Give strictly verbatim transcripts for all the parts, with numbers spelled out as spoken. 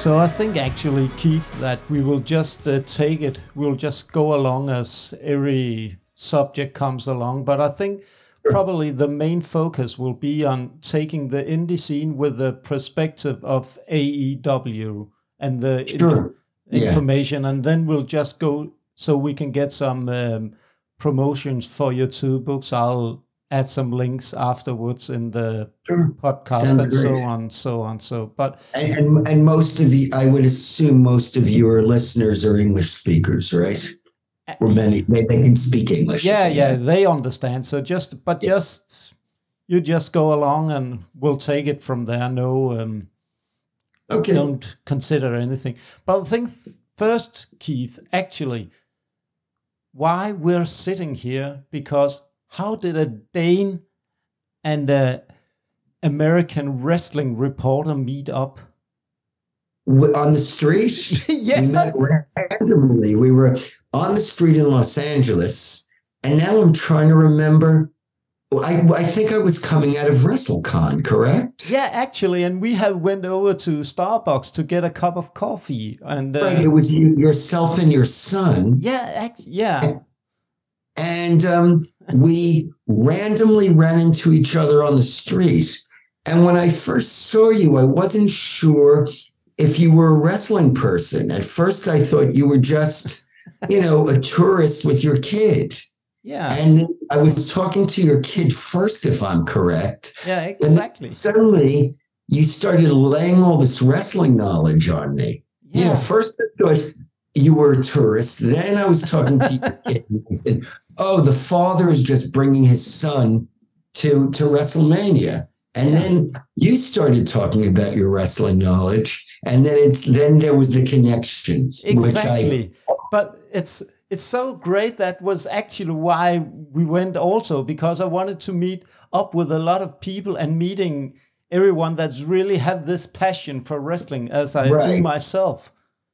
So I think actually, Keith, that we will just uh, take it. We'll just go along as every subject comes along. But I think probably the main focus will be on taking the indie scene with the perspective of A E W and the Sure. inf- information. Yeah. And then we'll just go so we can get some um, promotions for your two books. I'll add some links afterwards in the sure. podcast Sounds and great. so on, so on. So, but and, and and most of you, I would assume, most of your listeners are English speakers, right? Or many they, they can speak English. Yeah, they yeah, have. they understand. So just, but Yeah. just you just go along and we'll take it from there. No, um, Okay. don't consider anything. But I think first, Keith, actually, why we're sitting here, because how did a Dane and a American wrestling reporter meet up? On the street? Yeah. We met randomly. We were on the street in Los Angeles, and now I'm trying to remember. I, I think I was coming out of WrestleCon, correct? Yeah, actually, and we have went over to Starbucks to get a cup of coffee, and uh, Right, it was you, yourself and your son. yeah, act, yeah. And um, we randomly ran into each other on the street. And when I first saw you, I wasn't sure if you were a wrestling person. At first, I thought you were just, you know, a tourist with your kid. Yeah. And then I was talking to your kid first, if I'm correct. Yeah, exactly. And suddenly, you started laying all this wrestling knowledge on me. Yeah. Yeah, first I thought you were a tourist. Then I was talking to your kid and I said, oh, the father is just bringing his son to, to WrestleMania. And Yeah. then you started talking about your wrestling knowledge. And then it's then there was the connection. Exactly. Which I, but it's it's so great. That was actually why we went also, because I wanted to meet up with a lot of people and meeting everyone that's really have this passion for wrestling as I Right. do myself.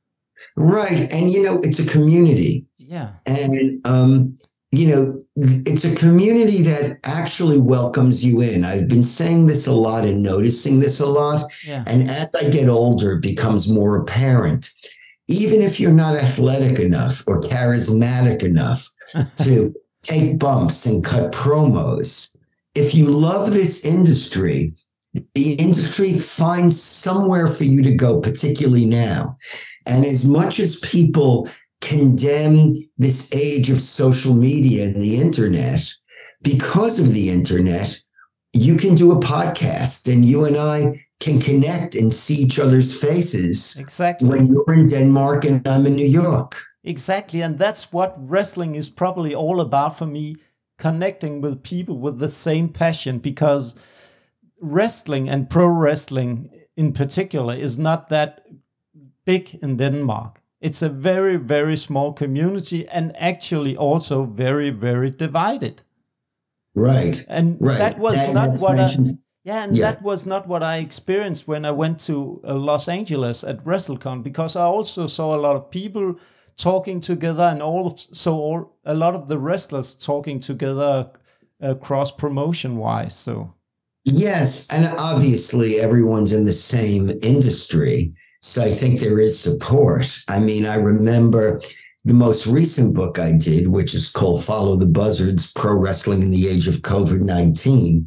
Right. And, you know, it's a community. Yeah. And, um, you know, it's a community that actually welcomes you in. I've been saying this a lot and noticing this a lot. Yeah. And as I get older, it becomes more apparent. Even if you're not athletic enough or charismatic enough to take bumps and cut promos, if you love this industry, the industry finds somewhere for you to go, particularly now. And as much as people condemn this age of social media and the internet, because of the internet, you can do a podcast and you and I can connect and see each other's faces. Exactly. When you're in Denmark and I'm in New York. Exactly. And that's what wrestling is probably all about for me, connecting with people with the same passion, because wrestling and pro wrestling in particular is not that big in Denmark. It's a very, very small community and actually also very, very divided. Right. And right. that was that, not what mentioned. I... Yeah, and Yeah. that was not what I experienced when I went to uh, Los Angeles at WrestleCon, because I also saw a lot of people talking together and all of, so all, a lot of the wrestlers talking together uh, cross promotion wise. So yes, and obviously everyone's in the same industry, so I think there is support. I mean, I remember the most recent book I did, which is called Follow the Buzzards, Pro Wrestling in the Age of COVID nineteen.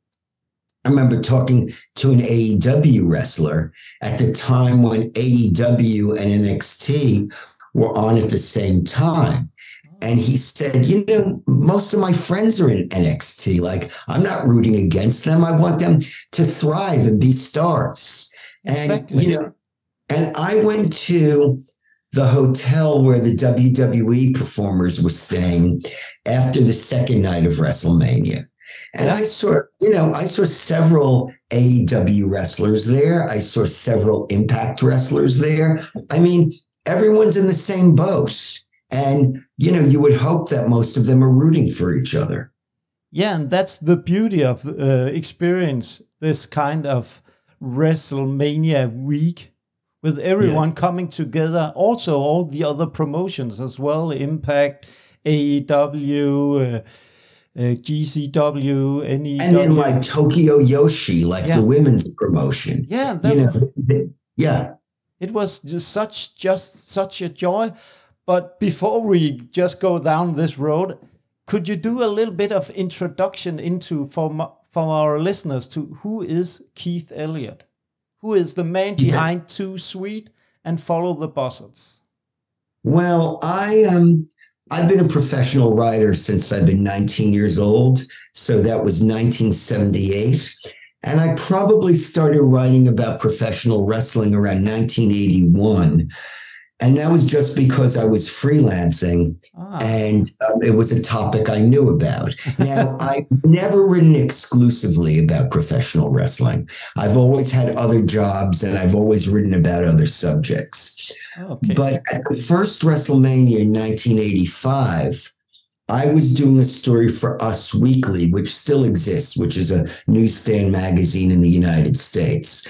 I remember talking to an A E W wrestler at the time when A E W and N X T were on at the same time. And he said, you know, most of my friends are in N X T. Like, I'm not rooting against them. I want them to thrive and be stars. Exactly. And, you know, and I went to the hotel where the W W E performers were staying after the second night of WrestleMania. And I saw, you know, I saw several A E W wrestlers there. I saw several Impact wrestlers there. I mean, everyone's in the same boat. And, you know, you would hope that most of them are rooting for each other. Yeah, and that's the beauty of uh, experience this kind of WrestleMania week with everyone yeah. coming together. Also, all the other promotions as well, Impact, A E W, uh, Uh, G C W, N E W. And then like Tokyo Yoshi, like yeah. the women's promotion. Yeah. That, you know, they, yeah. It was just such just such a joy. But before we just go down this road, could you do a little bit of introduction into for for our listeners to who is Keith Elliott? Who is the man behind yeah. Too Sweet and Follow the Buzzards? Well, I um I've been a professional writer since I've been nineteen years old. So that was nineteen seventy-eight. And I probably started writing about professional wrestling around nineteen eighty-one. And that was just because I was freelancing ah. and um, it was a topic I knew about. Now, I've never written exclusively about professional wrestling. I've always had other jobs and I've always written about other subjects. Okay. But at the first WrestleMania in nineteen eighty-five, I was doing a story for Us Weekly, which still exists, which is a newsstand magazine in the United States.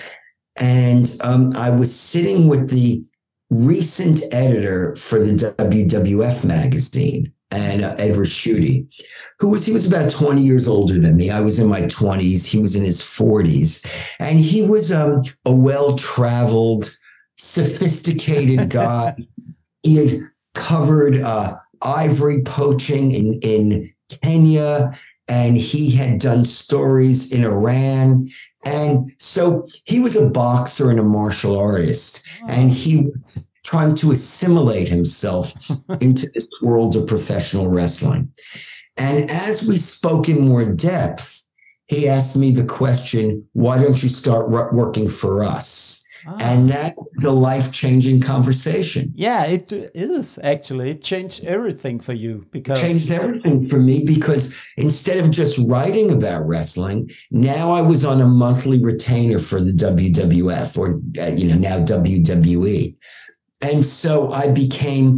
And um, I was sitting with the recent editor for the W W F magazine, and uh, Ed Raschuti, who was, he was about twenty years older than me. I was in my twenties. He was in his forties. And he was um, a well-traveled, sophisticated guy. He had covered uh, ivory poaching in, in Kenya, and he had done stories in Iran. And so he was a boxer and a martial artist, oh. and he was trying to assimilate himself into this world of professional wrestling. And as we spoke in more depth, he asked me the question, why don't you start working for us? Ah. And that was a life-changing conversation. Yeah, it is actually. It changed everything for you because it changed everything for me because instead of just writing about wrestling, now I was on a monthly retainer for the W W F, or uh, you know, now W W E. And so I became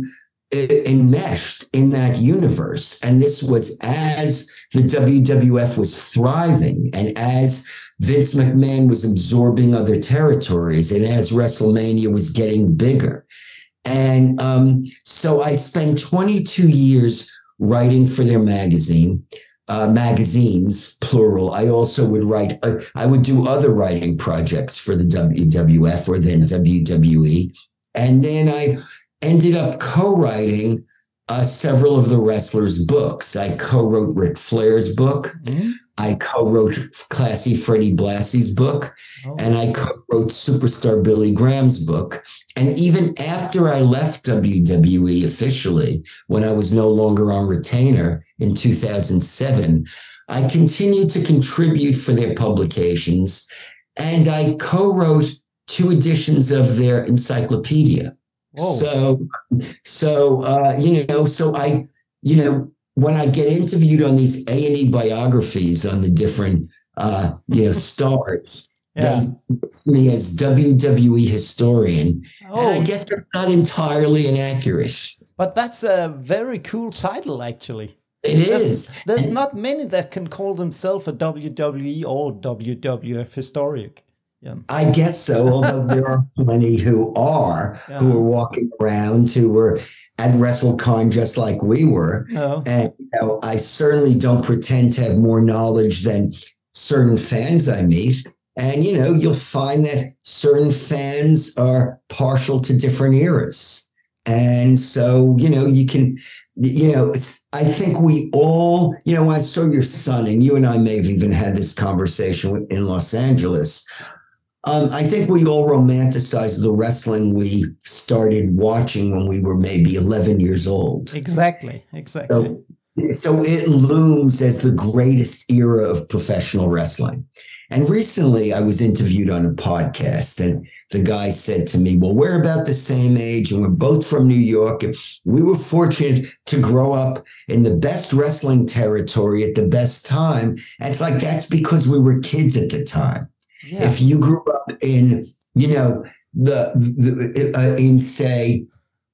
enmeshed in that universe. And this was as the W W F was thriving and as Vince McMahon was absorbing other territories and as WrestleMania was getting bigger. And um, so I spent twenty-two years writing for their magazine, uh, magazines, plural. I also would write, uh, I would do other writing projects for the W W F or then W W E. And then I ended up co-writing uh, several of the wrestlers' books. I co-wrote Ric Flair's book. Mm-hmm. I co-wrote Classy Freddie Blassie's book, oh. and I co-wrote Superstar Billy Graham's book. And even after I left W W E officially, when I was no longer on retainer in two thousand seven, I continued to contribute for their publications, and I co-wrote two editions of their encyclopedia. Whoa. So, so uh, you know, so I, you know, when I get interviewed on these A and E biographies on the different, uh, you know, stars, yeah. they list me as W W E historian. Oh, and I guess that's not entirely inaccurate. But that's a very cool title, actually. It there's, is. There's and, not many that can call themselves a W W E or W W F historian. Yeah. I guess so, although there are plenty who are, yeah. who are walking around, who were at WrestleCon just like we were. Oh. And you know, I certainly don't pretend to have more knowledge than certain fans I meet. And, you know, you'll find that certain fans are partial to different eras. And so, you know, you can, you know, it's, I think we all, you know, I saw your son, and you and I may have even had this conversation in Los Angeles. Um, I think we all romanticize the wrestling we started watching when we were maybe eleven years old. Exactly, exactly. So, so it looms as the greatest era of professional wrestling. And recently I was interviewed on a podcast, and the guy said to me, well, we're about the same age and we're both from New York. And we were fortunate to grow up in the best wrestling territory at the best time. And it's like, that's because we were kids at the time. Yeah. If you grew up in, you know, the, the uh, in say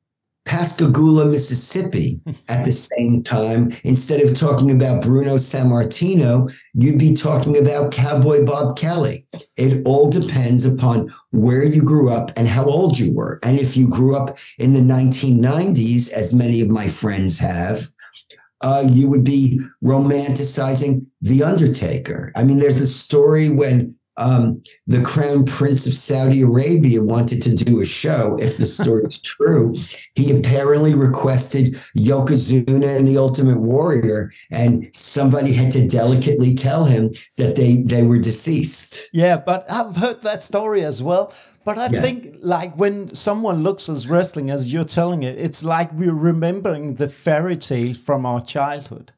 Pascagoula, Mississippi, at the same time, instead of talking about Bruno Sammartino, you'd be talking about Cowboy Bob Kelly. It all depends upon where you grew up and how old you were. And if you grew up in the nineteen nineties, as many of my friends have, uh, you would be romanticizing The Undertaker. I mean, there's the story when um, the Crown Prince of Saudi Arabia wanted to do a show, if the story is true. He apparently requested Yokozuna and the Ultimate Warrior, and somebody had to delicately tell him that they, they were deceased. Yeah, but I've heard that story as well. But I Yeah. think, like, when someone looks at wrestling as you're telling it, it's like we're remembering the fairy tale from our childhood.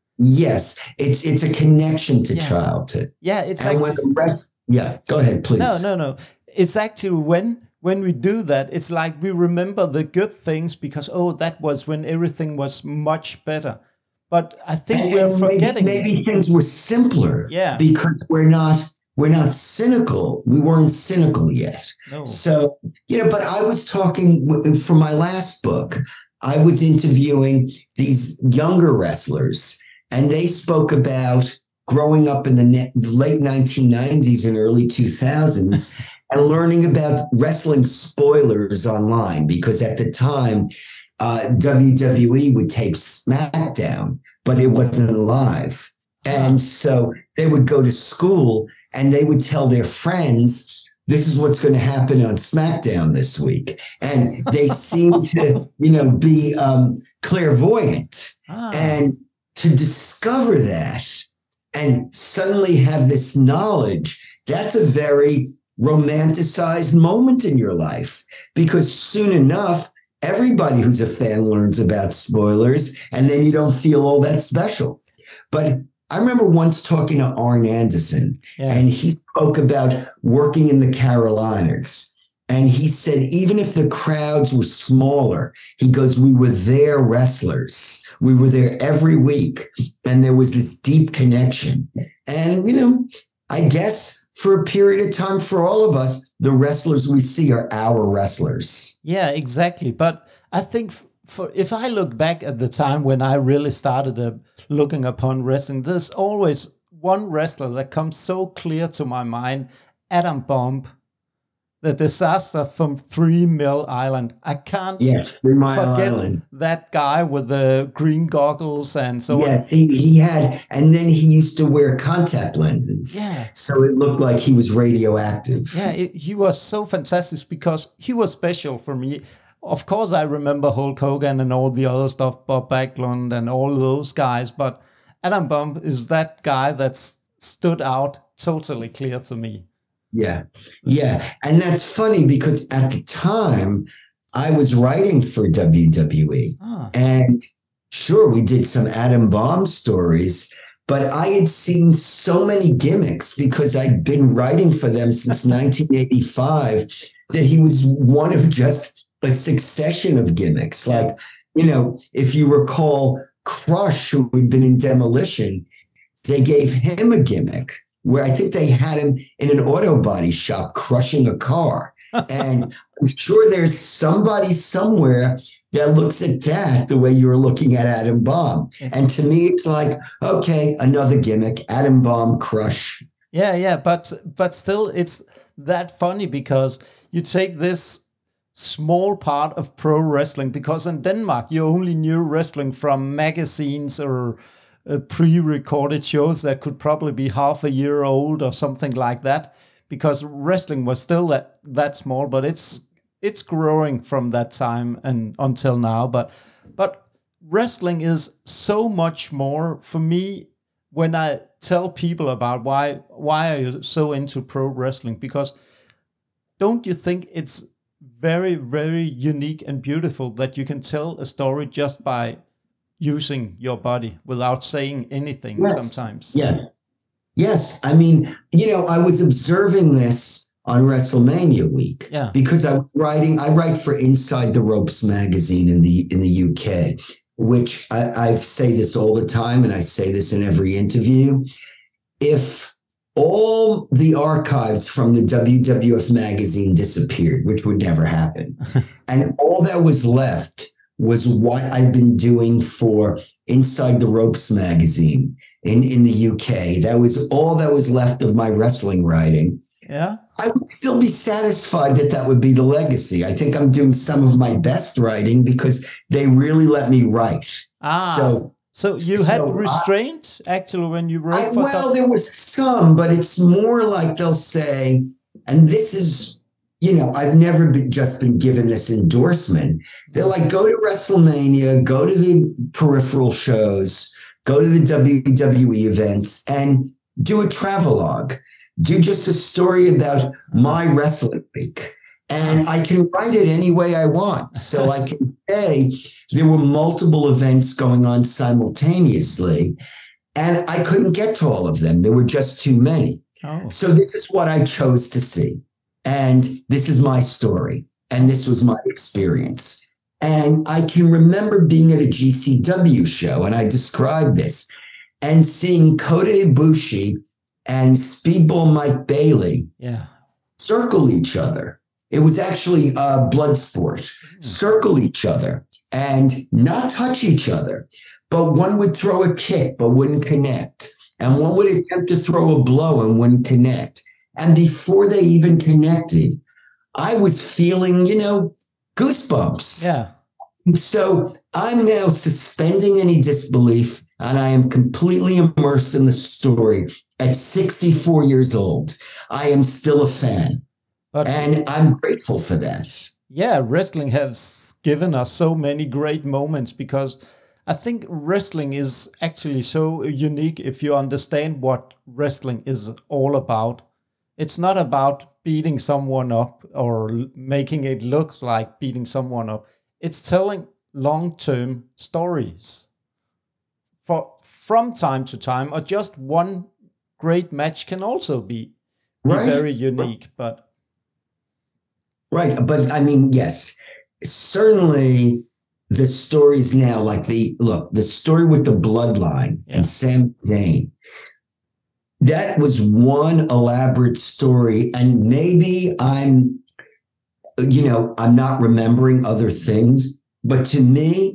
Yes, it's it's a connection to Yeah. childhood. Yeah, it's And when actually the rest, yeah, go ahead, please. no, no, no. It's actually when when we do that, it's like we remember the good things because oh, that was when everything was much better. But I think And- we're and maybe- forgetting. Maybe, things were simpler. Yeah. Because we're not we're not cynical. We weren't cynical yet. No. So, you know, but I was talking for my last book, I was interviewing these younger wrestlers, and they spoke about growing up in the ne- late nineteen nineties and early two thousands and learning about wrestling spoilers online, because at the time, uh, W W E would tape SmackDown, but it wasn't live. And so they would go to school and they would tell their friends, this is what's going to happen on SmackDown this week. And they seem to, you know, be um, clairvoyant. Ah. And to discover that and suddenly have this knowledge, that's a very romanticized moment in your life, because soon enough, everybody who's a fan learns about spoilers, and then you don't feel all that special. But I remember once talking to Arn Anderson, Yeah. and he spoke about working in the Carolinas. And he said, even if the crowds were smaller, he goes, we were there wrestlers. We were there every week. And there was this deep connection. And, you know, I guess for a period of time for all of us, the wrestlers we see are our wrestlers. Yeah, exactly. But I think f- for if I look back at the time when I really started uh, looking upon wrestling, there's always one wrestler that comes so clear to my mind, Adam Bomb, the disaster from Three Mill Island. I can't Yes, Three Mile forget Island. that guy with the green goggles and so on. Yes, he, he had, and then he used to wear contact lenses. Yeah. So it looked like he was radioactive. Yeah, it, he was so fantastic because he was special for me. Of course, I remember Hulk Hogan and all the other stuff, Bob Backlund and all those guys, but Adam Bomb is that guy that's stood out totally clear to me. Yeah. Yeah. And that's funny because at the time I was writing for W W E. Ah. And sure, we did some Adam Bomb stories, but I had seen so many gimmicks because I'd been writing for them since nineteen eighty-five that he was one of just a succession of gimmicks. Like, you know, if you recall Crush, who had been in Demolition, they gave him a gimmick where I think they had him in an auto body shop crushing a car. And I'm sure there's somebody somewhere that looks at that the way you're looking at Adam Bomb. And to me, it's like, okay, another gimmick, Adam Bomb, Crush. Yeah, yeah, but but still, it's that funny because you take this small part of pro wrestling, because in Denmark you only knew wrestling from magazines or uh, pre-recorded shows that could probably be half a year old or something like that, because wrestling was still that that small. But it's it's growing from that time and until now. But but wrestling is so much more for me. When I tell people about why why are you so into pro wrestling, because don't you think it's very, very unique and beautiful that you can tell a story just by using your body without saying anything? Yes. Sometimes. Yes. Yes. I mean, you know, I was observing this on WrestleMania week. Yeah. Because I was writing, I write for Inside the Ropes magazine in the in the U K, which I, I say this all the time, and I say this in every interview. If all the archives from the W W F magazine disappeared, which would never happen, and all that was left was what I've been doing for Inside the Ropes magazine in, in the U K. That was all that was left of my wrestling writing. Yeah. I would still be satisfied that that would be the legacy. I think I'm doing some of my best writing because they really let me write. Ah. So, So you So had I- restraint actually when you wrote I, for well, Doc- there was some, but it's more like they'll say, and this is, you know, I've never been, just been given this endorsement. They're like, go to WrestleMania, go to the peripheral shows, go to the W W E events, and do a travelogue. Do just a story about my wrestling week. And I can write it any way I want. So I can say there were multiple events going on simultaneously, and I couldn't get to all of them. There were just too many. Oh. So this is what I chose to see. And this is my story. And this was my experience. And I can remember being at a G C W show, and I described this, and seeing Kota Ibushi and Speedball Mike Bailey Yeah. circle each other. It was actually uh, blood sport. Circle each other and not touch each other. But one would throw a kick but wouldn't connect. And one would attempt to throw a blow and wouldn't connect. And before they even connected, I was feeling, you know, goosebumps. Yeah. So I'm now suspending any disbelief, and I am completely immersed in the story. At sixty-four years old, I am still a fan. But And I'm grateful for that. yeah, wrestling has given us so many great moments because I think wrestling is actually so unique if you understand what wrestling is all about. It's not about beating someone up or l- making it look like beating someone up. It's telling long-term stories for from time to time, or just one great match can also be, be Right. very unique. But Right. But I mean, yes, certainly the stories now, like the look, the story with the bloodline Yeah. and Sami Zayn, that was one elaborate story. And maybe I'm, you know, I'm not remembering other things, but to me,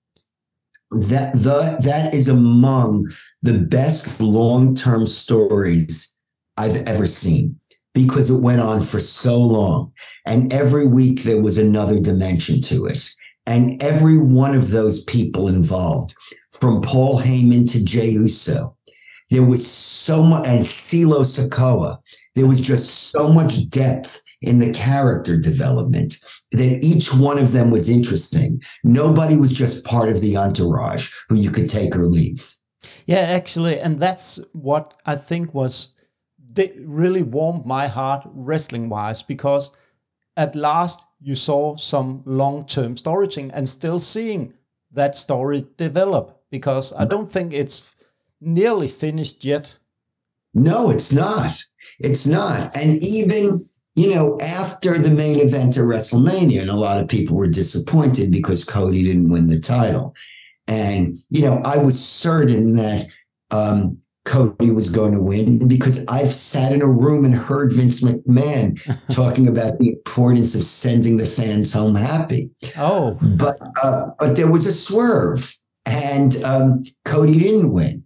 that the that is among the best long-term stories I've ever seen, because it went on for so long. And every week there was another dimension to it. And every one of those people involved, from Paul Heyman to Jey Uso, there was so much, and CeeLo Sikoa, there was just so much depth in the character development that each one of them was interesting. Nobody was just part of the entourage who you could take or leave. yeah, actually, and that's what I think was they really warmed my heart wrestling wise, because at last you saw some long-term storytelling and still seeing that story develop, because I don't think it's nearly finished yet. No, it's not. It's not. And even, you know, after the main event of WrestleMania, and a lot of people were disappointed because Cody didn't win the title. And, you know, I was certain that um, Cody was going to win, because I've sat in a room and heard Vince McMahon talking about the importance of sending the fans home happy. Oh, But uh, but there was a swerve, and um, Cody didn't win.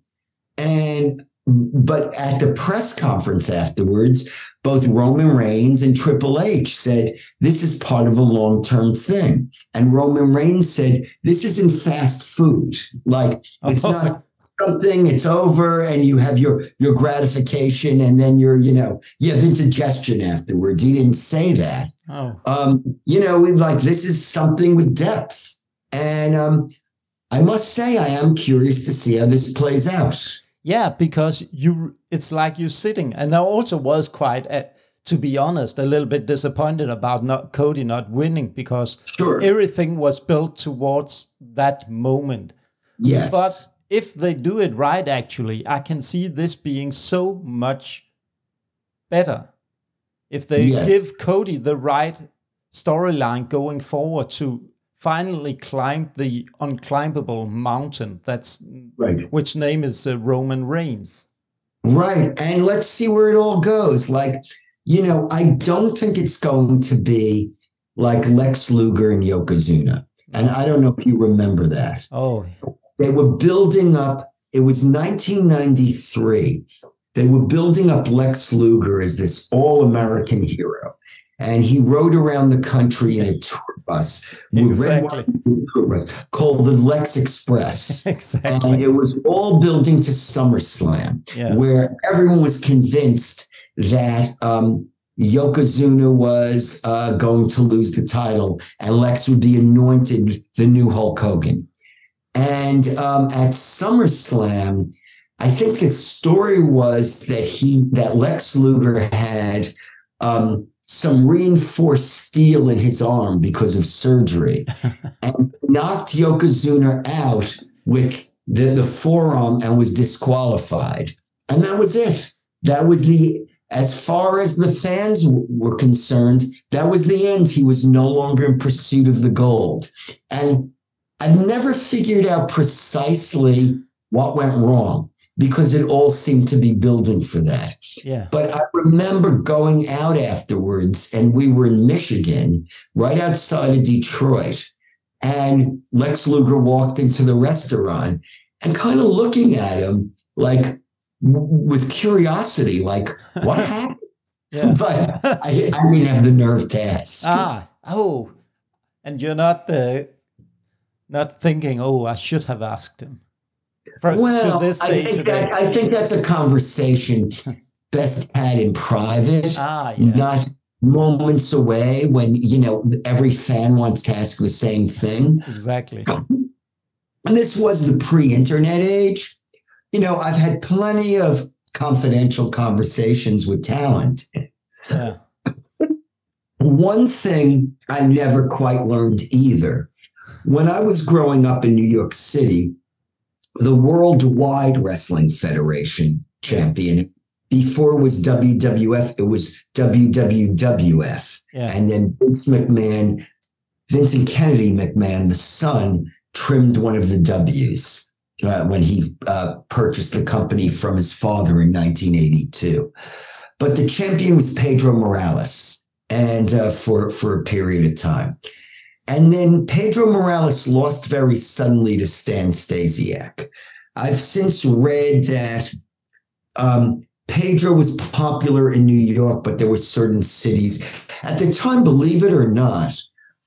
And but at the press conference afterwards, both Roman Reigns and Triple H said, this is part of a long-term thing. And Roman Reigns said, this isn't fast food. Like, it's not something, it's over, and you have your, your gratification, and then you're, you know, you have indigestion afterwards. He didn't say that. oh, Um, you know, like, this is something with depth. And um, I must say, I am curious to see how this plays out. yeah, because you, it's like you're sitting, and I also was quite, uh, to be honest, a little bit disappointed about not Cody not winning, because Sure. everything was built towards that moment. Yes. But if they do it right, actually, I can see this being so much better. If they Yes. give Cody the right storyline going forward to finally climb the unclimbable mountain, that's Right. which name is uh, Roman Reigns. Right. And let's see where it all goes. Like, you know, I don't think it's going to be like Lex Luger and Yokozuna. And I don't know if you remember that. Oh, They were building up, it was nineteen ninety-three. They were building up Lex Luger as this all-American hero. And he rode around the country in a tour bus with Exactly. red, white, and blue bus called the Lex Express. Exactly. And it was all building to SummerSlam, Yeah. where everyone was convinced that um, Yokozuna was uh, going to lose the title and Lex would be anointed the new Hulk Hogan. And um, at SummerSlam, I think the story was that he that Lex Luger had um, some reinforced steel in his arm because of surgery and knocked Yokozuna out with the, the forearm and was disqualified. And that was it. That was the, as far as the fans w- were concerned, that was the end. He was no longer in pursuit of the gold. And I've never figured out precisely what went wrong, because it all seemed to be building for that. Yeah. But I remember going out afterwards, and we were in Michigan, right outside of Detroit, and Lex Luger walked into the restaurant and kind of looking at him like w- with curiosity, like, what happened? Yeah. But I, I didn't have the nerve to ask. Ah, oh, and you're not uh, not thinking, oh, I should have asked him. For, Well, to this I day think, today. that, I think that's a conversation best had in private, Ah, yeah. not moments away when, you know, every fan wants to ask the same thing. Exactly. And this was the pre-internet age. You know, I've had plenty of confidential conversations with talent. Yeah. One thing I never quite learned either. When I was growing up in New York City, the Worldwide Wrestling Federation champion, before it was W W F, it was W W F. Yeah. And then Vince McMahon, Vincent Kennedy McMahon, the son, trimmed one of the W's uh, when he uh, purchased the company from his father in nineteen eighty-two. But the champion was Pedro Morales, and uh, for, for a period of time. And then Pedro Morales lost very suddenly to Stan Stasiak. I've since read that um, Pedro was popular in New York, but there were certain cities. At the time, believe it or not,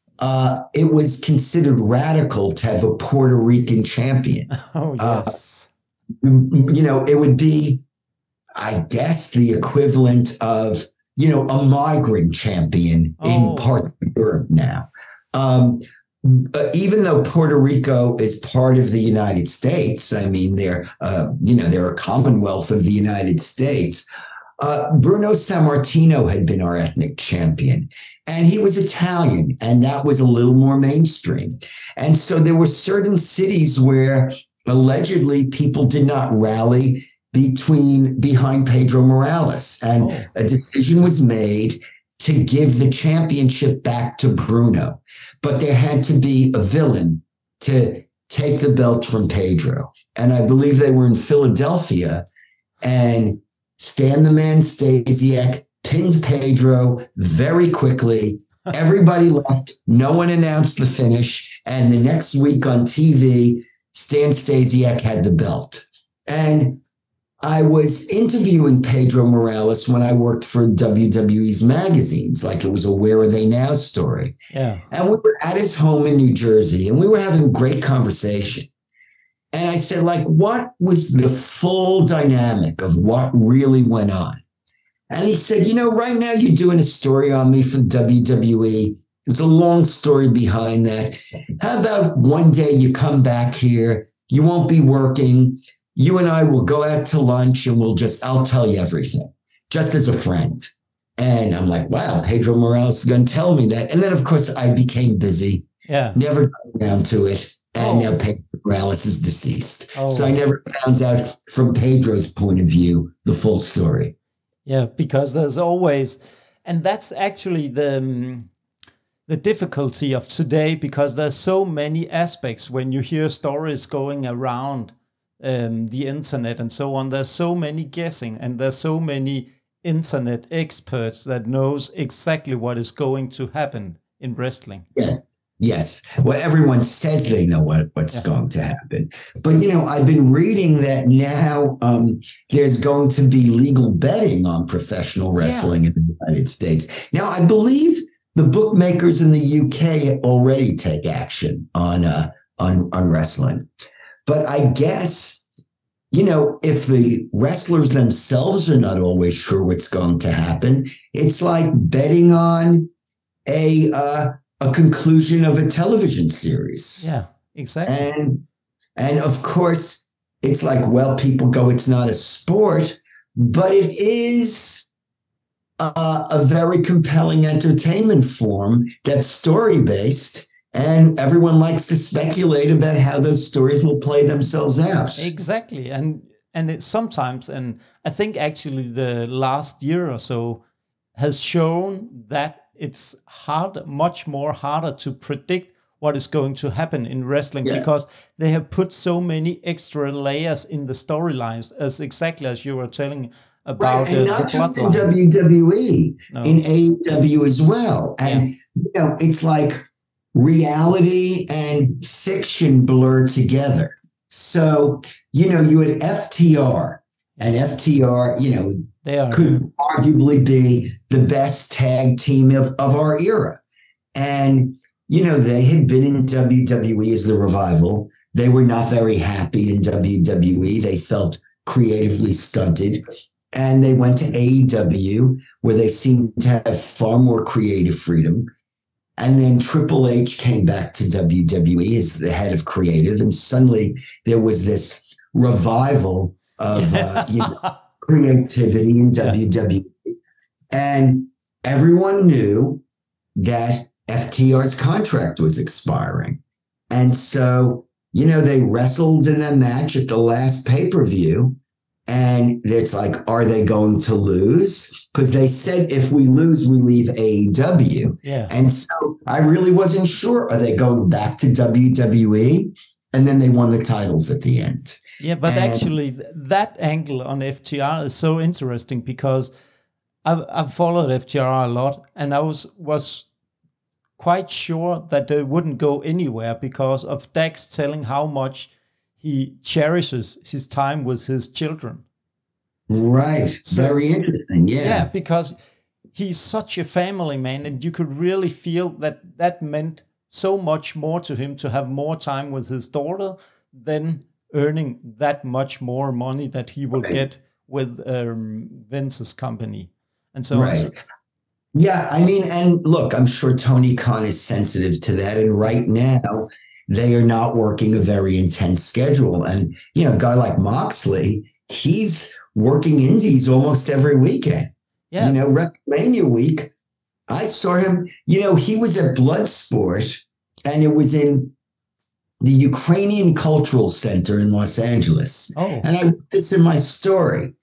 uh, it was considered radical to have a Puerto Rican champion. Oh, yes. Uh, you know, it would be, I guess, the equivalent of, you know, a migrant champion Oh. in parts of Europe now. Um, uh, even though Puerto Rico is part of the United States, I mean, they're, uh, you know, they're a commonwealth of the United States. Uh, Bruno Sammartino had been our ethnic champion, and he was Italian, and that was a little more mainstream. And so there were certain cities where allegedly people did not rally between behind Pedro Morales, and Oh. a decision was made to give the championship back to Bruno. But there had to be a villain to take the belt from Pedro. And I believe they were in Philadelphia, and Stan the Man Stasiak pinned Pedro very quickly. Everybody left. No one announced the finish. And the next week on T V, Stan Stasiak had the belt. And I was interviewing Pedro Morales when I worked for W W E's magazines, like it was a Where Are They Now story. Yeah. And we were at his home in New Jersey, and we were having a great conversation. And I said, like, what was the full dynamic of what really went on? And he said, you know, right now you're doing a story on me for W W E. There's a long story behind that. How about one day you come back here, you won't be working, you and I will go out to lunch and we'll just, I'll tell you everything, just as a friend. And I'm like, wow, Pedro Morales is going to tell me that. And then, of course, I became busy, Yeah. never got around to it. And Oh. now Pedro Morales is deceased. Oh. So I never found out from Pedro's point of view the full story. Yeah, because there's always, and that's actually the um, the difficulty of today, because there's so many aspects when you hear stories going around um, the internet and so on. There's so many guessing, and there's so many internet experts that knows exactly what is going to happen in wrestling. Yes. Yes. Well, everyone says they know what, what's Yeah. going to happen. But, you know, I've been reading that now um, there's going to be legal betting on professional wrestling in the United States. Now, I believe the bookmakers in the U K already take action on uh, on on wrestling. But I guess, you know, if the wrestlers themselves are not always sure what's going to happen, it's like betting on a uh, a conclusion of a television series. Yeah, exactly. And and of course, it's like, well, people go, it's not a sport, but it is Uh, a very compelling entertainment form that's story-based, and everyone likes to speculate about how those stories will play themselves out. Exactly. And and it sometimes, and I think actually the last year or so has shown that it's hard, much more harder to predict what is going to happen in wrestling, Yes. because they have put so many extra layers in the storylines, as exactly as you were telling about Right, and uh, not the just in bloodline. W W E, No. in A E W as well. And Yeah. you know, it's like reality and fiction blur together. So, you know, you had F T R, and F T R, you know, They are. could arguably be the best tag team of, of our era. And, you know, they had been in W W E as the Revival. They were not very happy in W W E. They felt creatively stunted. And they went to A E W, where they seemed to have far more creative freedom. And then Triple H came back to W W E as the head of creative. And suddenly there was this revival of uh, you know, creativity in Yeah. W W E. And everyone knew that F T R's contract was expiring. And so, you know, they wrestled in a match at the last pay-per-view. And it's like, are they going to lose? Because they said if we lose, we leave A E W. Yeah. And so I really wasn't sure. Are they going back to W W E? And then they won the titles at the end. Yeah, but And- actually, th- that angle on F T R is so interesting, because I've I've followed F T R a lot, and I was was quite sure that they wouldn't go anywhere because of Dax telling how much he cherishes his time with his children. Right. So- Very interesting. Yeah. Yeah, because he's such a family man, and you could really feel that that meant so much more to him to have more time with his daughter than earning that much more money that he will Right. get with um, Vince's company. And so on. Right. So- Yeah, I mean, and look, I'm sure Tony Khan is sensitive to that. And right now, they are not working a very intense schedule. And, you know, a guy like Moxley, he's working indies almost every weekend. yeah, You know, WrestleMania week, I saw him, you know, he was at Bloodsport, and it was in the Ukrainian Cultural Center in Los Angeles. oh, And I wrote this in my story.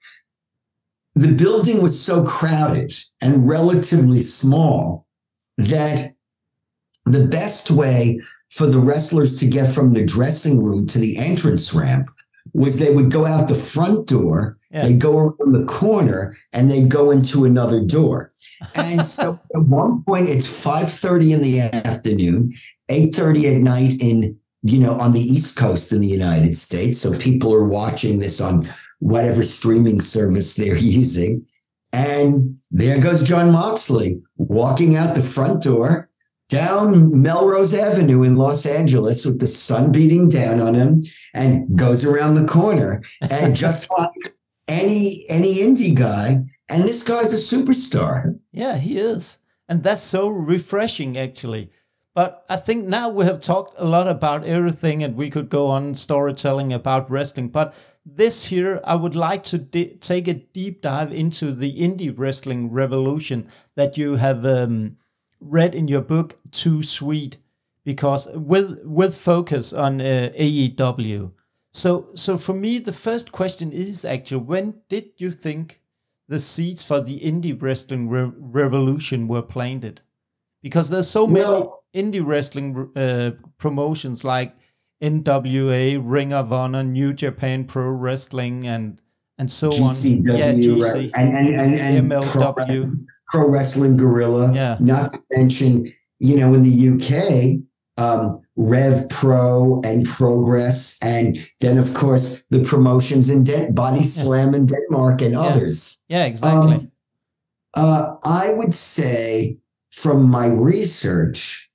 The building was so crowded and relatively small that the best way for the wrestlers to get from the dressing room to the entrance ramp was they would go out the front door, Yeah. they'd go around the corner, and they'd go into another door. And so at one point, it's five thirty in the afternoon, eight thirty at night in, you know, on the East Coast in the United States. So people are watching this on whatever streaming service they're using. And there goes John Moxley walking out the front door down Melrose Avenue in Los Angeles with the sun beating down on him, and goes around the corner. And just like any any indie guy, and this guy's a superstar. yeah, he is. And that's so refreshing, actually. But I think now we have talked a lot about everything, and we could go on storytelling about wrestling. But this here, I would like to di- take a deep dive into the indie wrestling revolution that you have um, read in your book, Too Sweet, because with with focus on uh, A E W. So, so for me, the first question is actually, when did you think the seeds for the indie wrestling re- revolution were planted? Because there's so many Well- indie wrestling uh, promotions like N W A, Ring of Honor, New Japan Pro Wrestling, and and so G C W, on. Yeah, G right? C, and, and, and, and M L Pro, W. Pro Wrestling Gorilla. Yeah. Not to mention, you know, in the U K, um, Rev Pro and Progress. And then, of course, the promotions in Den- Body Slam in Denmark and Yeah. others. Yeah, exactly. Um, Uh, I would say from my research,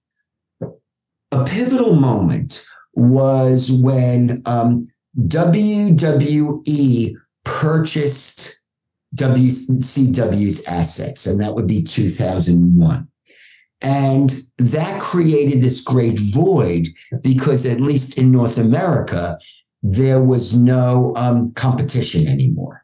a pivotal moment was when um, W W E purchased W C W's assets, and that would be two thousand one. And that created this great void because, at least in North America, there was no um, competition anymore.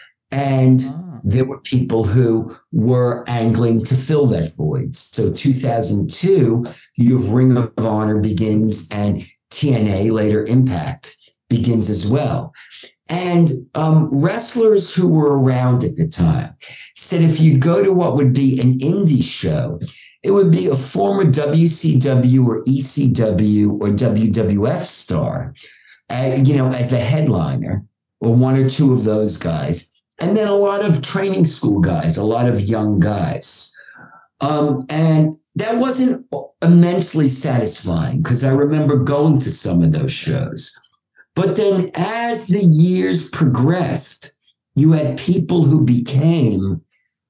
And oh. there were people who were angling to fill that void. So two thousand two, you have Ring of Honor begins, and T N A, later Impact, begins as well. And um, wrestlers who were around at the time said if you'd go to what would be an indie show, it would be a former W C W or E C W or W W F star, uh, you know, as the headliner, or one or two of those guys. And then a lot of training school guys, a lot of young guys. Um, and that wasn't immensely satisfying because I remember going to some of those shows. But then as the years progressed, you had people who became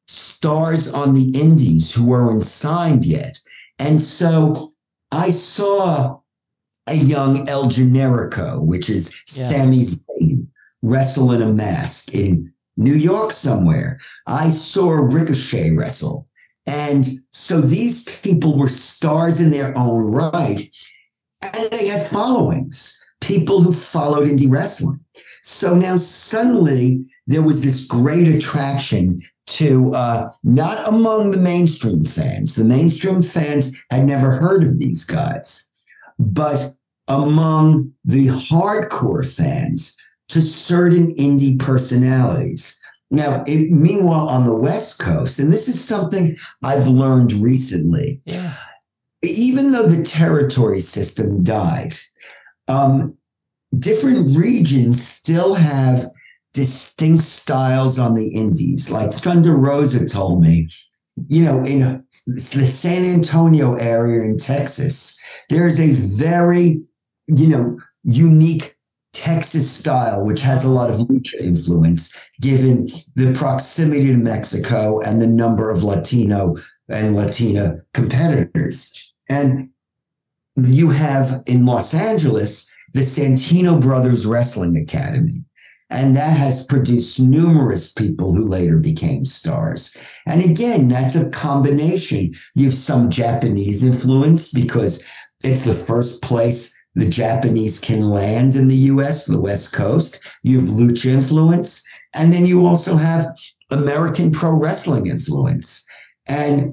stars on the indies who weren't signed yet. And so I saw a young El Generico, which is yeah. Sami Zayn, wrestle in a mask in New York somewhere. I saw Ricochet wrestle. And so these people were stars in their own right, and they had followings, people who followed indie wrestling. So now suddenly there was this great attraction to uh, not among the mainstream fans. The mainstream fans had never heard of these guys, but among the hardcore fans to certain indie personalities. Now, it, meanwhile, on the West Coast, and this is something I've learned recently, yeah. even though the territory system died, um, different regions still have distinct styles on the indies. Like Thunder Rosa told me, you know, in the San Antonio area in Texas, there's a very, you know, unique Texas style, which has a lot of lucha influence, given the proximity to Mexico and the number of Latino and Latina competitors. And you have in Los Angeles, the Santino Brothers Wrestling Academy. And that has produced numerous people who later became stars. And again, that's a combination. You have some Japanese influence because it's the first place the Japanese can land in the U S, the West Coast. You have lucha influence. And then you also have American pro wrestling influence. And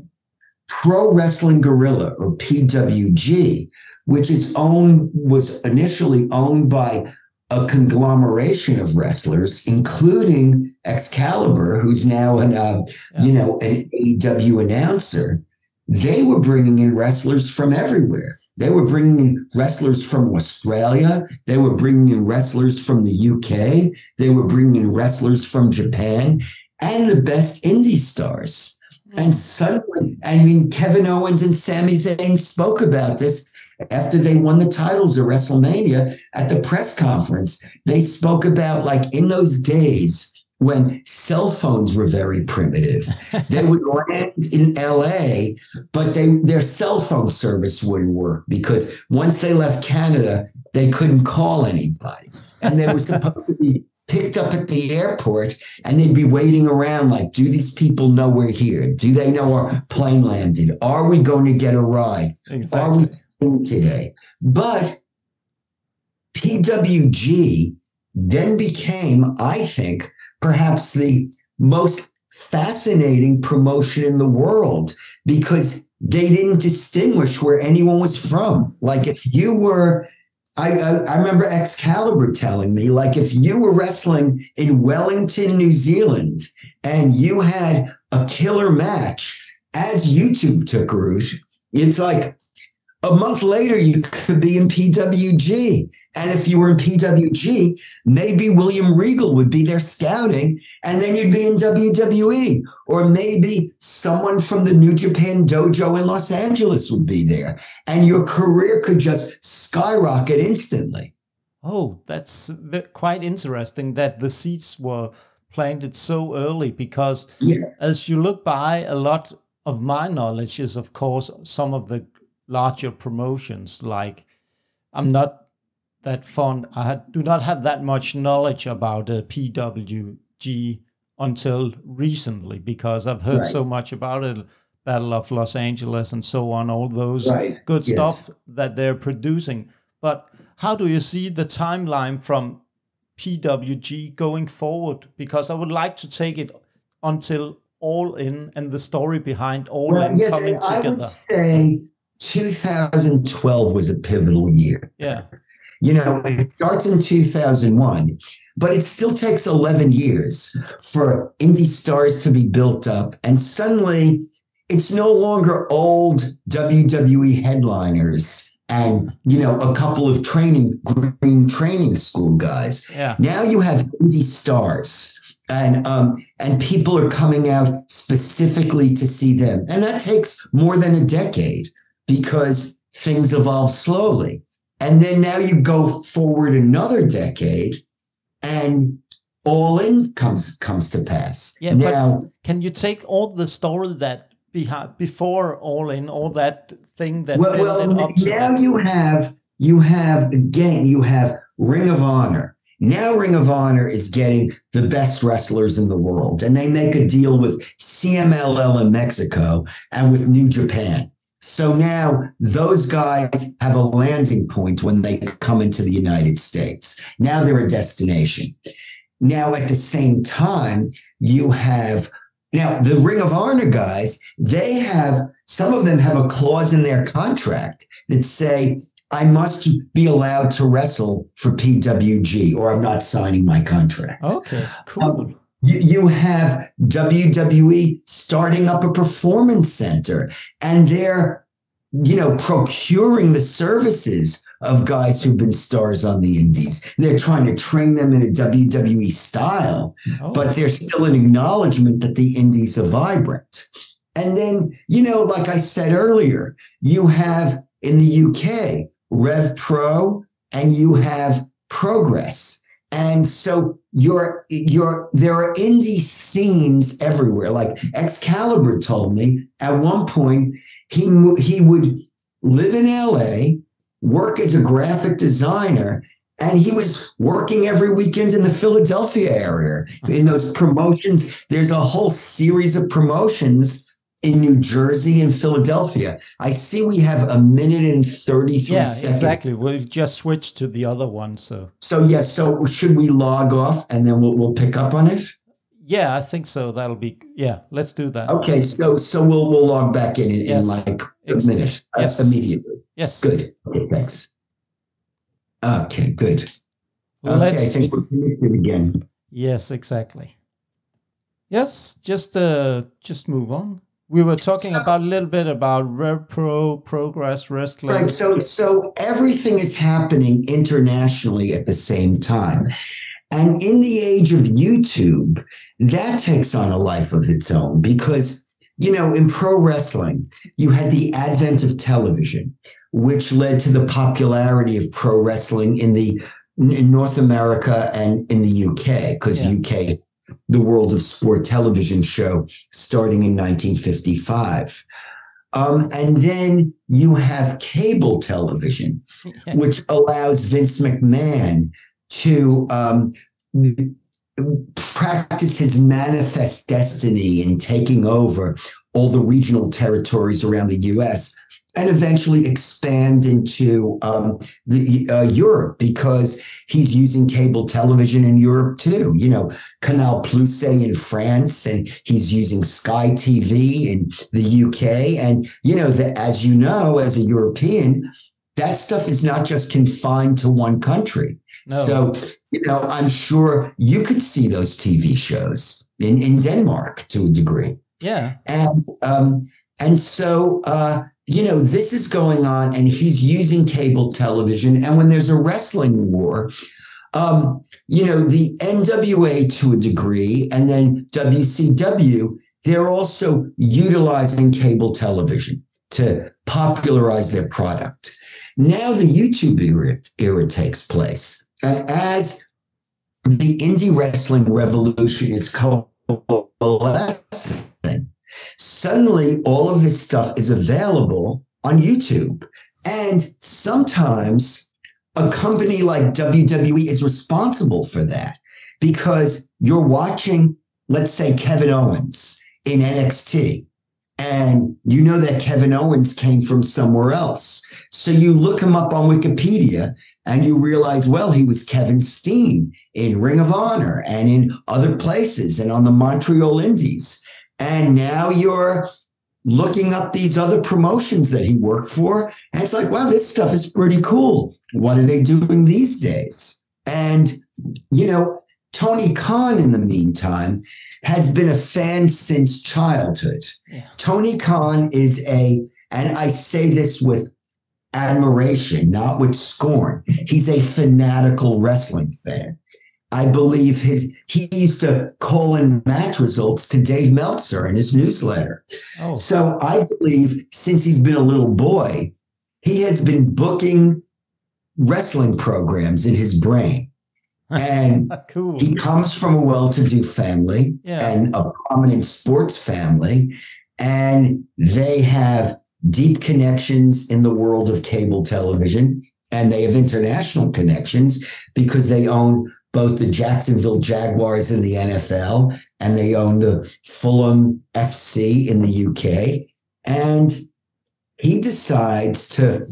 Pro Wrestling Guerrilla, or P W G, which is owned, was initially owned by a conglomeration of wrestlers, including Excalibur, who's now an, uh, yeah. you know, an A E W announcer. They were bringing in wrestlers from everywhere. They were bringing in wrestlers from Australia. They were bringing in wrestlers from the U K. They were bringing in wrestlers from Japan and the best indie stars. Mm-hmm. And suddenly, I mean, Kevin Owens and Sami Zayn spoke about this after they won the titles of WrestleMania at the press conference. They spoke about, like, in those days when cell phones were very primitive, they would land in L A, but they their cell phone service wouldn't work because once they left Canada, they couldn't call anybody. And they were supposed to be picked up at the airport, and they'd be waiting around like, do these people know we're here? Do they know our plane landed? Are we going to get a ride? Exactly. Are we in today? But P W G then became, I think, perhaps the most fascinating promotion in the world because they didn't distinguish where anyone was from. Like if you were, I, I, I remember Excalibur telling me, like if you were wrestling in Wellington, New Zealand, and you had a killer match as YouTube took root, it's like, a month later, you could be in P W G. And if you were in P W G, maybe William Regal would be there scouting, and then you'd be in W W E. Or maybe someone from the New Japan Dojo in Los Angeles would be there. And your career could just skyrocket instantly. Oh, that's quite interesting that the seeds were planted so early because yeah. as you look by, a lot of my knowledge is, of course, some of the larger promotions. Like, I'm not that fond. I had, do not have that much knowledge about uh, P W G until recently, because I've heard Right. so much about it, Battle of Los Angeles and so on, all those Right. good Yes. stuff that they're producing. But how do you see the timeline from P W G going forward? Because I would like to take it until All In and the story behind All Well, In yes, coming I together. would say two thousand twelve was a pivotal year. Yeah. You know, it starts in two thousand one, but it still takes eleven years for indie stars to be built up. And suddenly it's no longer old W W E headliners and, you know, a couple of training, green training school guys. Yeah. Now you have indie stars. And um, and people are coming out specifically to see them. And that takes more than a decade because things evolve slowly. And then now you go forward another decade and All In comes comes to pass. Yeah, now, but can you take all the story that behind before All In, all that thing that well, built well it up to now that? you have you have again you have Ring of Honor. Now Ring of Honor is getting the best wrestlers in the world, and they make a deal with C M L L in Mexico and with New Japan. So now those guys have a landing point when they come into the United States. Now they're a destination. Now at the same time, you have now the Ring of Honor guys, they have, some of them have a clause in their contract that say, I must be allowed to wrestle for P W G or I'm not signing my contract. Okay, cool. Um, you, you have W W E starting up a performance center and they're, you know, procuring the services of guys who've been stars on the indies. They're trying to train them in a W W E style, Oh. but there's still an acknowledgement that the indies are vibrant. And then, you know, like I said earlier, you have in the U K, Rev Pro, and you have Progress. And so you're, you're, there are indie scenes everywhere. Like Excalibur told me at one point, he, he would live in L A, work as a graphic designer, and he was working every weekend in the Philadelphia area in those promotions. There's a whole series of promotions in New Jersey and Philadelphia. I see we have a minute and thirty-three Yeah, seconds. exactly. We've just switched to the other one. So, So, yes. Yeah, so should we log off and then we'll, we'll pick up on it? yeah, I think so. That'll be, yeah, let's do that. Okay. So, so we'll, we'll log back in in, Yes. in like a Ex- minute uh, yes. immediately. Yes. Good. Okay. Thanks. Okay. Good. Okay. Let's, I think we're connected again. yes, exactly. Yes, just uh, just move on. We were talking about a little bit about Rev Pro, Progress Wrestling. Right. So, so everything is happening internationally at the same time. And in the age of YouTube, that takes on a life of its own because, you know, in pro wrestling, you had the advent of television, which led to the popularity of pro wrestling in the in North America and in the U K, because Yeah. U K, the World of Sport television show starting in nineteen fifty-five. Um, and then you have cable television, Yeah. which allows Vince McMahon to um, practice his manifest destiny in taking over all the regional territories around the U S and eventually expand into um, the uh, Europe, because he's using cable television in Europe too. You know, Canal Plus in France, and he's using Sky T V in the U K. And, you know, that, as you know, as a European, that stuff is not just confined to one country. No. So, you know, I'm sure you could see those T V shows in, in Denmark to a degree. Yeah. And um, and so, uh, you know, this is going on, and he's using cable television. And when there's a wrestling war, um, you know, the N W A to a degree, and then W C W, they're also utilizing cable television to popularize their product. Now the YouTube era, era takes place. And as the indie wrestling revolution is coalescing, Suddenly, all of this stuff is available on YouTube. And sometimes a company like W W E is responsible for that because you're watching, let's say, Kevin Owens in N X T. And you know that Kevin Owens came from somewhere else. So you look him up on Wikipedia and you realize, well, he was Kevin Steen in Ring of Honor and in other places and on the Montreal Indies. And now you're looking up these other promotions that he worked for. And it's like, wow, this stuff is pretty cool. What are they doing these days? And, you know, Tony Khan, in the meantime, has been a fan since childhood. Yeah. Tony Khan is a, and I say this with admiration, not with scorn, he's a fanatical wrestling fan. I believe his, he used to call in match results to Dave Meltzer in his newsletter. Oh. So I believe since he's been a little boy, he has been booking wrestling programs in his brain. And cool. He comes from a well-to-do family yeah. and a prominent sports family, and they have deep connections in the world of cable television, and they have international connections because they own both the Jacksonville Jaguars in the N F L and they own the Fulham F C in the U K. And he decides to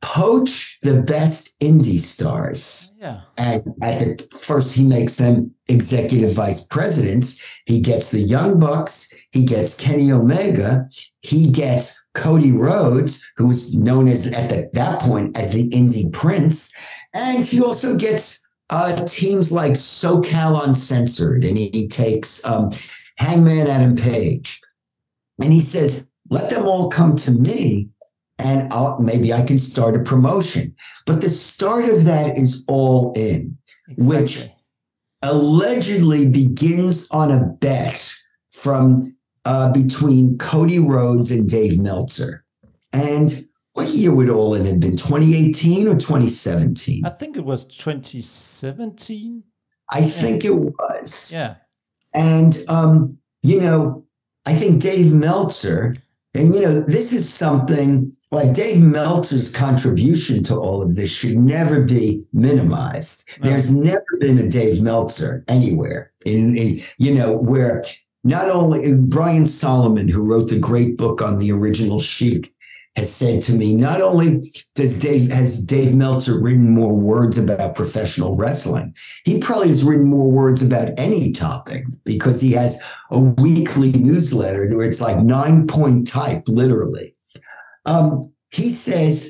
poach the best indie stars. Yeah. And at the first, he makes them executive vice presidents. He gets the Young Bucks. He gets Kenny Omega. He gets Cody Rhodes, who was known as at the, that point as the Indie Prince. And he also gets uh, teams like SoCal Uncensored. And he, he takes um, Hangman Adam Page. And he says, let them all come to me. And I'll, maybe I can start a promotion. But the start of that is All In, exactly. Which allegedly begins on a bet from uh, between Cody Rhodes and Dave Meltzer. And what year would All In have been? twenty eighteen or twenty seventeen? I think it was twenty seventeen. I yeah. think it was. Yeah. And, um, you know, I think Dave Meltzer, and, you know, this is something like Dave Meltzer's contribution to all of this should never be minimized. No. There's never been a Dave Meltzer anywhere in, in, you know, where not only Brian Solomon, who wrote the great book on the original Sheik, has said to me, not only does Dave has Dave Meltzer written more words about professional wrestling, he probably has written more words about any topic because he has a weekly newsletter where it's like nine point type, literally. Um, he says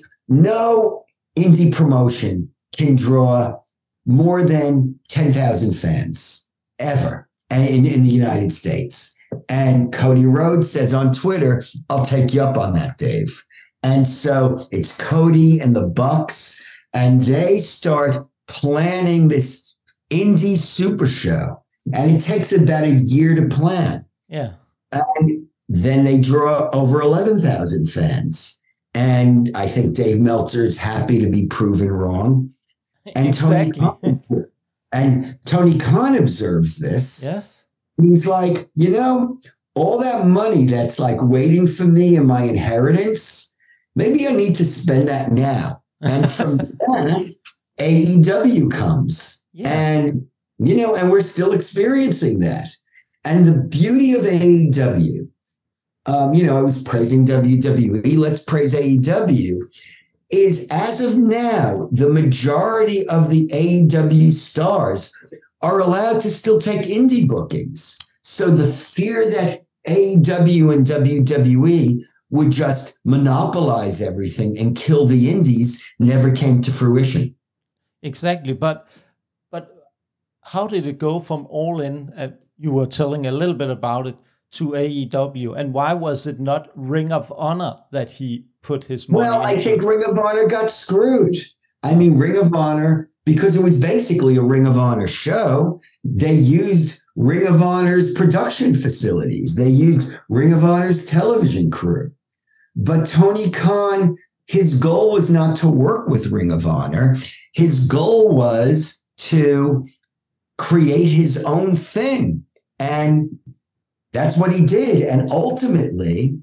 no indie promotion can draw more than ten thousand fans ever in, in the United States. And Cody Rhodes says on Twitter, I'll take you up on that, Dave. And so it's Cody and the Bucks, and they start planning this indie super show. And it takes about a year to plan. Yeah. And then they draw over eleven thousand fans. And I think Dave Meltzer is happy to be proven wrong. And exactly. Tony Khan, and Tony Khan observes this. Yes. He's like, you know, all that money that's like waiting for me in my inheritance, maybe I need to spend that now. And from that, A E W comes. Yeah. And, you know, and we're still experiencing that. And the beauty of A E W, um, you know, I was praising W W E, let's praise A E W, is as of now, the majority of the A E W stars are allowed to still take indie bookings. So the fear that A E W and W W E would just monopolize everything and kill the indies never came to fruition. Exactly. But but how did it go from All In, uh, you were telling a little bit about it, to A E W? And why was it not Ring of Honor that he put his money well, into? Well, I think Ring of Honor got screwed. I mean, Ring of Honor, because it was basically a Ring of Honor show, they used Ring of Honor's production facilities. They used Ring of Honor's television crew. But Tony Khan, his goal was not to work with Ring of Honor. His goal was to create his own thing. And That's what he did. And ultimately,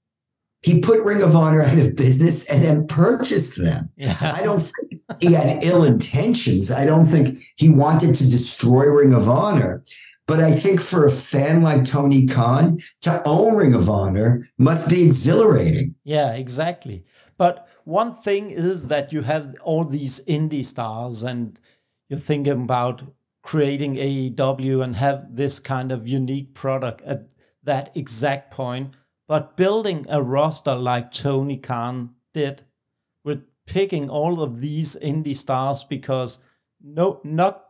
he put Ring of Honor out of business and then purchased them. Yeah. I don't think he had ill intentions. I don't think he wanted to destroy Ring of Honor. But I think for a fan like Tony Khan, to own Ring of Honor must be exhilarating. Yeah, exactly. But one thing is that you have all these indie stars and you're thinking about creating A E W and have this kind of unique product at that exact point. But building a roster like Tony Khan did with picking all of these indie stars, because no, not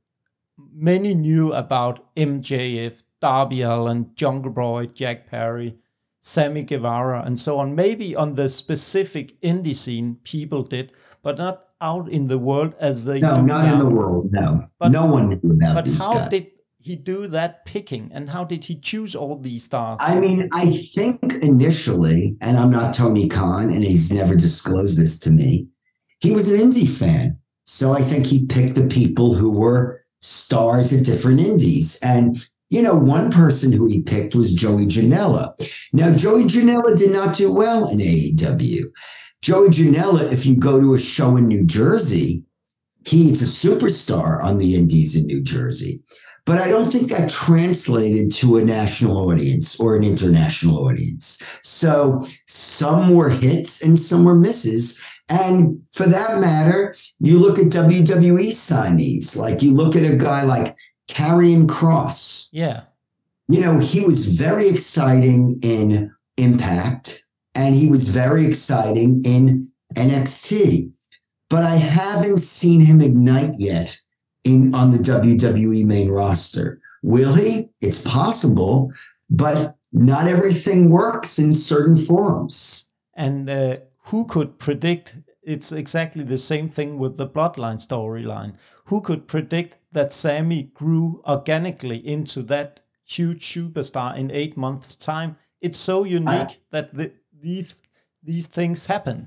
many knew about M J F, Darby Allin, Jungle Boy, Jack Perry, Sammy Guevara, and so on. Maybe on the specific indie scene, people did, but not out in the world as they no, do not now. in the world, no. But, no one knew about but these how guys. did he do that picking, and how did he choose all these stars? I mean, I think initially, and I'm not Tony Khan, and he's never disclosed this to me, he was an indie fan. So I think he picked the people who were stars at different indies. And, you know, one person who he picked was Joey Janela. Now, Joey Janela did not do well in A E W. Joey Janela, if you go to a show in New Jersey, he's a superstar on the indies in New Jersey. But I don't think that translated to a national audience or an international audience. So some were hits and some were misses. And for that matter, you look at W W E signees, like you look at a guy like Karrion Kross. Yeah. You know, he was very exciting in Impact, and he was very exciting in N X T. But I haven't seen him ignite yet in on the W W E main roster. Will he? It's possible, but not everything works in certain forums. And uh, who could predict? It's exactly the same thing with the Bloodline storyline. Who could predict that Sammy grew organically into that huge superstar in eight months' time? It's so unique I, that the, these these things happen.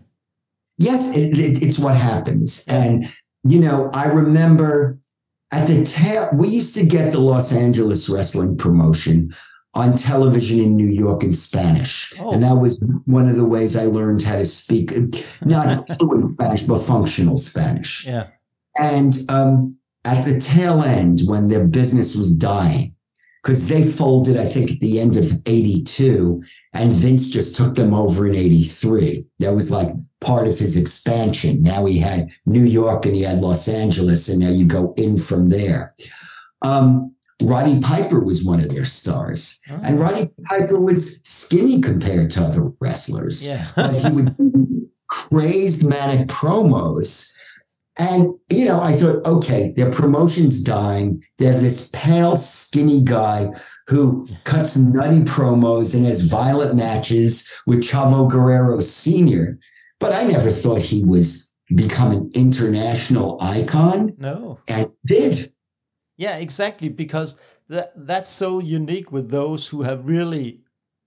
Yes, it, it, it's what happens. And, you know, I remember at the tail, we used to get the Los Angeles wrestling promotion on television in New York in Spanish. Oh. And that was one of the ways I learned how to speak, not fluent Spanish, but functional Spanish. Yeah. And um, at the tail end, when their business was dying, because they folded, I think, at the end of eighty-two, and Vince just took them over in eighty-three. That was like part of his expansion. Now he had New York and he had Los Angeles, and now you go in from there. Um, Roddy Piper was one of their stars. Oh. And Roddy Piper was skinny compared to other wrestlers. Yeah. But he would do crazed manic promos. And, you know, I thought, okay, their promotion's dying. They have this pale, skinny guy who cuts nutty promos and has violent matches with Chavo Guerrero Senior But I never thought he was become an international icon. No. And did. Yeah, exactly. Because that that's so unique with those who have really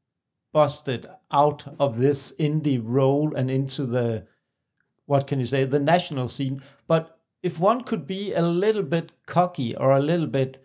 busted out of this indie role and into the, what can you say, the national scene. But if one could be a little bit cocky or a little bit,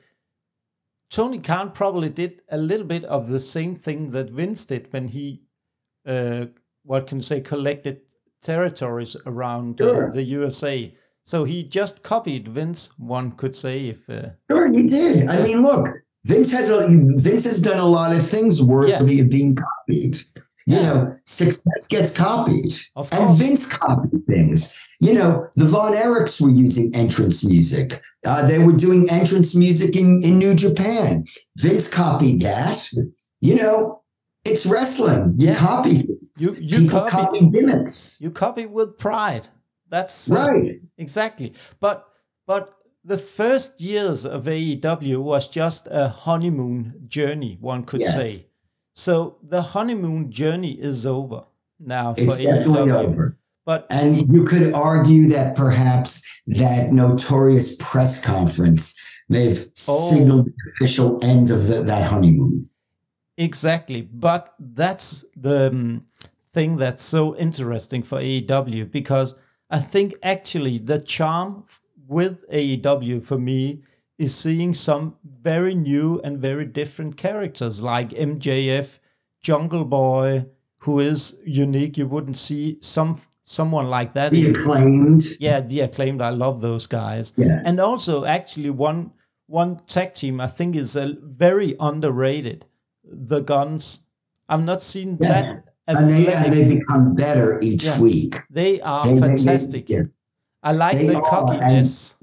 Tony Khan probably did a little bit of the same thing that Vince did when he, uh, what can you say, collected territories around sure. uh, the U S A. So he just copied Vince, one could say. If uh, Sure, he did. I mean, look, Vince has a, Vince has done a lot of things worthy yeah. of being copied. You yeah. know, success gets copied. Of and course. Vince copied things. You know, the Von Erichs were using entrance music. Uh, they were doing entrance music in, in New Japan. Vince copied that. You know, it's wrestling. You yeah. copy things. You, you People copy, copy gimmicks. You copy with pride. That's uh, right. Exactly. But but the first years of A E W was just a honeymoon journey, one could yes. say. So the honeymoon journey is over now for it's A E W. It's definitely over. But and you could argue that perhaps that notorious press conference may have oh, signaled the official end of the, that honeymoon. Exactly. But that's the um, thing that's so interesting for A E W, because I think actually the charm with A E W for me is seeing some very new and very different characters like M J F, Jungle Boy, who is unique. You wouldn't see some someone like that. The Acclaimed. Yeah, the Acclaimed. I love those guys. Yeah. And also, actually, one one tag team I think is a very underrated. The Guns. I've not seen Yeah. that. And they, athletic- and they become better each Yeah. week. They are They- they- fantastic. yeah. I like They the are, cockiness.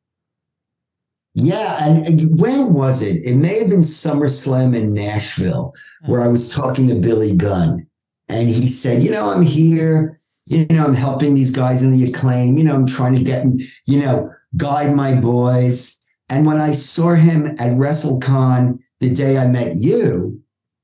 Yeah, and and when was it? It may have been SummerSlam in Nashville, where I was talking to Billy Gunn, and he said, "You know, I'm here. You know, I'm helping these guys in the Acclaim. You know, I'm trying to get, you know, guide my boys." And when I saw him at WrestleCon the day I met you,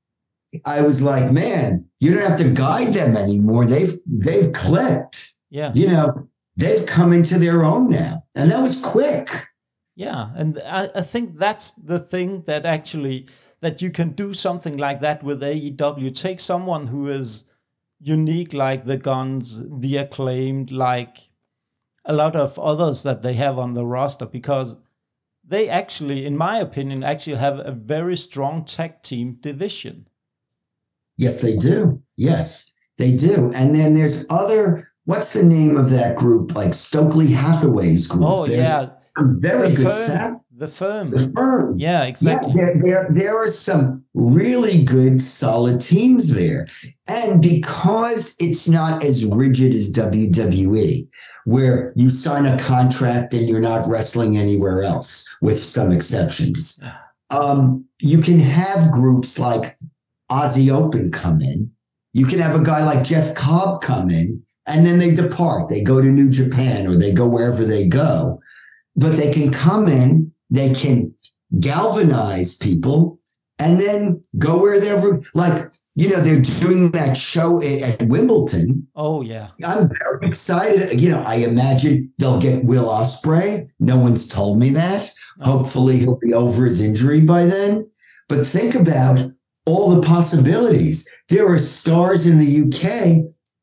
I was like, "Man, you don't have to guide them anymore. They've they've clicked. Yeah. You know, they've come into their own now, and that was quick." Yeah, and I, I think that's the thing that actually, that you can do something like that with A E W. Take someone who is unique like the Guns, the Acclaimed, like a lot of others that they have on the roster, because they actually, in my opinion, actually have a very strong tag team division. Yes, they do. Yes, they do. And then there's other, what's the name of that group? Like Stokely Hathaway's group. Oh, There's yeah. some very The good firm. fat. The firm. The firm. Yeah, exactly. Yeah, there, there, there are some really good, solid teams there. And because it's not as rigid as W W E, where you sign a contract and you're not wrestling anywhere else, with some exceptions, um, you can have groups like Aussie Open come in. You can have a guy like Jeff Cobb come in, and then they depart. They go to New Japan or they go wherever they go. But they can come in, they can galvanize people, and then go wherever. Like, you know, they're doing that show at, at Wimbledon. Oh, yeah. I'm very excited. You know, I imagine they'll get Will Ospreay. No one's told me that. Hopefully he'll be over his injury by then. But think about all the possibilities. There are stars in the U K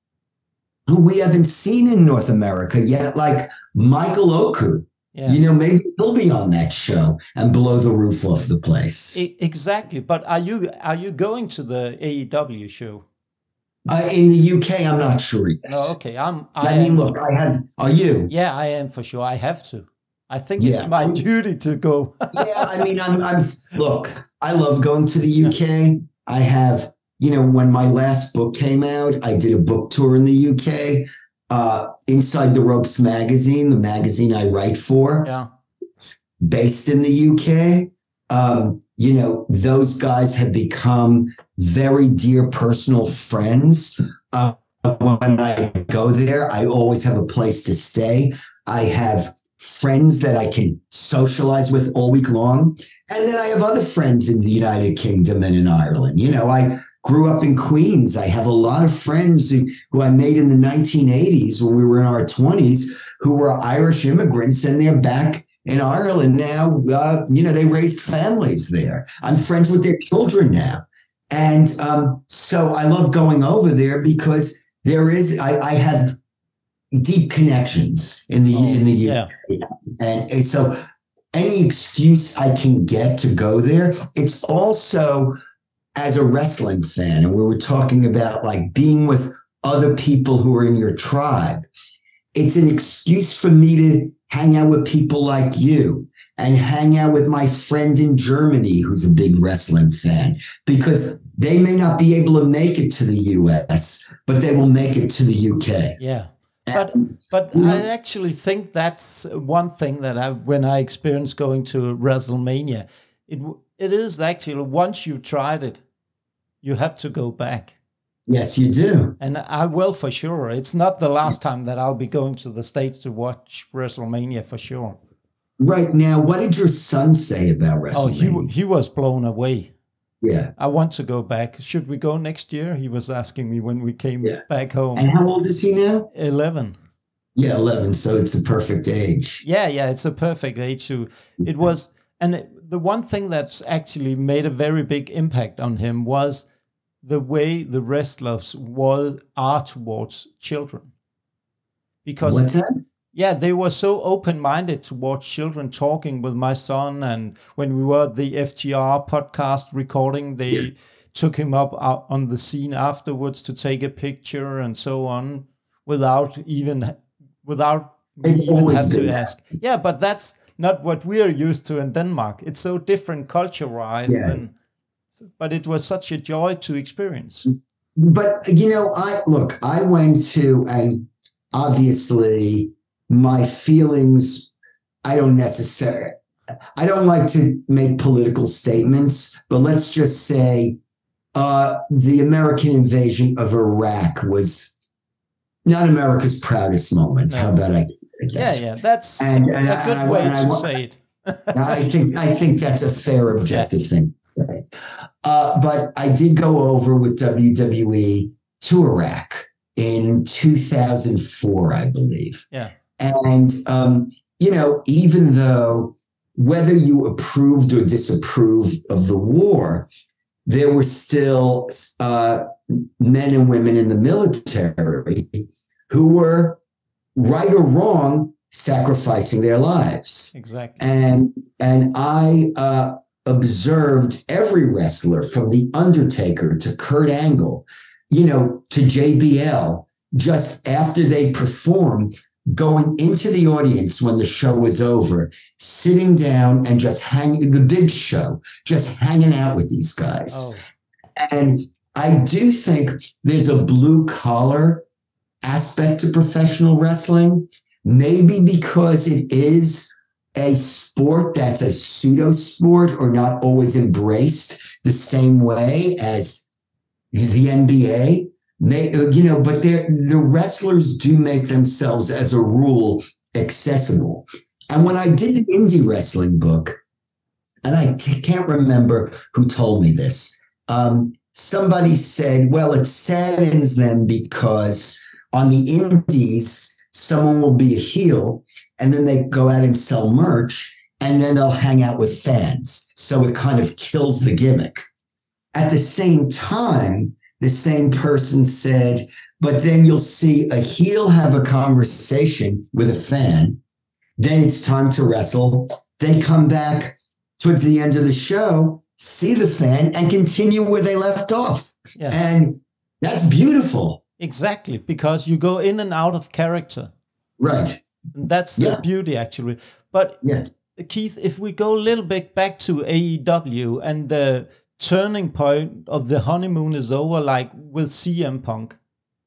who we haven't seen in North America yet, like Michael Oku. Yeah. You know, maybe he'll be on that show and blow the roof off the place. E- exactly. But are you are you going to the A E W show? Uh, in the U K, I'm not sure yet. No, okay. I'm. I, I mean, am, look, I have. Are you? Yeah, I am for sure. I have to. I think Yeah. it's my duty to go. Yeah, I mean, I'm, I'm. Look, I love going to the U K. I have, you know, when my last book came out, I did a book tour in the U K. Uh, Inside the Ropes magazine, the magazine I write for, Yeah. it's based in the U K. Um, you know, those guys have become very dear personal friends. Uh, when I go there, I always have a place to stay. I have friends that I can socialize with all week long. And then I have other friends in the United Kingdom and in Ireland. You know, I grew up in Queens. I have a lot of friends who, who I made in the nineteen eighties when we were in our twenties who were Irish immigrants, and they're back in Ireland now. Uh, you know, they raised families there. I'm friends with their children now. And um, so I love going over there because there is, I, I have deep connections in the, Oh, in the U K. yeah. And, and so any excuse I can get to go there, it's also as a wrestling fan, and we were talking about like being with other people who are in your tribe. It's an excuse for me to hang out with people like you and hang out with my friend in Germany who's a big wrestling fan, because they may not be able to make it to the U S, but they will make it to the U K. Yeah. But but you know, I actually think that's one thing that I, when I experienced going to WrestleMania, it it is actually, once you've tried it, you have to go back. yes, you do. And I will for sure. It's not the last time that I'll be going to the States to watch WrestleMania for sure. Right now, what did your son say about WrestleMania? Oh, he he was blown away. Yeah. I want to go back. Should we go next year? He was asking me when we came Yeah. back home. And how old is he now? eleven. Yeah, eleven. So it's the perfect age. Yeah, yeah, it's a perfect age to. It was, and it- the one thing that's actually made a very big impact on him was the way the wrestlers was are towards children. Because What's that? Yeah, they were so open-minded towards children, talking with my son. And when we were at the F T R podcast recording, they yeah. took him up out on the scene afterwards to take a picture and so on, without even without me even have to that. ask. Yeah, but that's not what we're used to in Denmark. It's so different culture-wise. Yeah. And, but it was such a joy to experience. But, you know, I look, I went to, and obviously my feelings, I don't necessarily, I don't like to make political statements, but let's just say uh, the American invasion of Iraq was not America's proudest moment. No. How about I? Yeah, yeah, that's and, and a good I, way I, to I, say it. I think I think that's a fair, objective yeah. thing to say. Uh, but I did go over with W W E to Iraq in two thousand four, I believe. Yeah. And, um, you know, even though whether you approved or disapproved of the war, there were still uh, men and women in the military who were, right or wrong, sacrificing their lives. Exactly. And, and I uh, observed every wrestler from The Undertaker to Kurt Angle, you know, to J B L, just after they performed, going into the audience when the show was over, sitting down and just hanging, the Big Show, just hanging out with these guys. Oh. And I do think there's a blue collar aspect to professional wrestling, maybe because it is a sport that's a pseudo sport or not always embraced the same way as the N B A. They, you know, but the wrestlers do make themselves, as a rule, accessible. And when I did the indie wrestling book, and I t- can't remember who told me this, um, somebody said, well, it saddens them because on the indies, someone will be a heel, and then they go out and sell merch, and then they'll hang out with fans. So it kind of kills the gimmick. At the same time, the same person said, but then you'll see a heel have a conversation with a fan. Then it's time to wrestle. They come back towards the end of the show, see the fan, and continue where they left off. Yeah. And that's beautiful. Exactly, because you go in and out of character. Right. And that's yeah. the beauty, actually. But yeah. Keith, if we go a little bit back to A E W and the turning point of the honeymoon is over, like with C M Punk,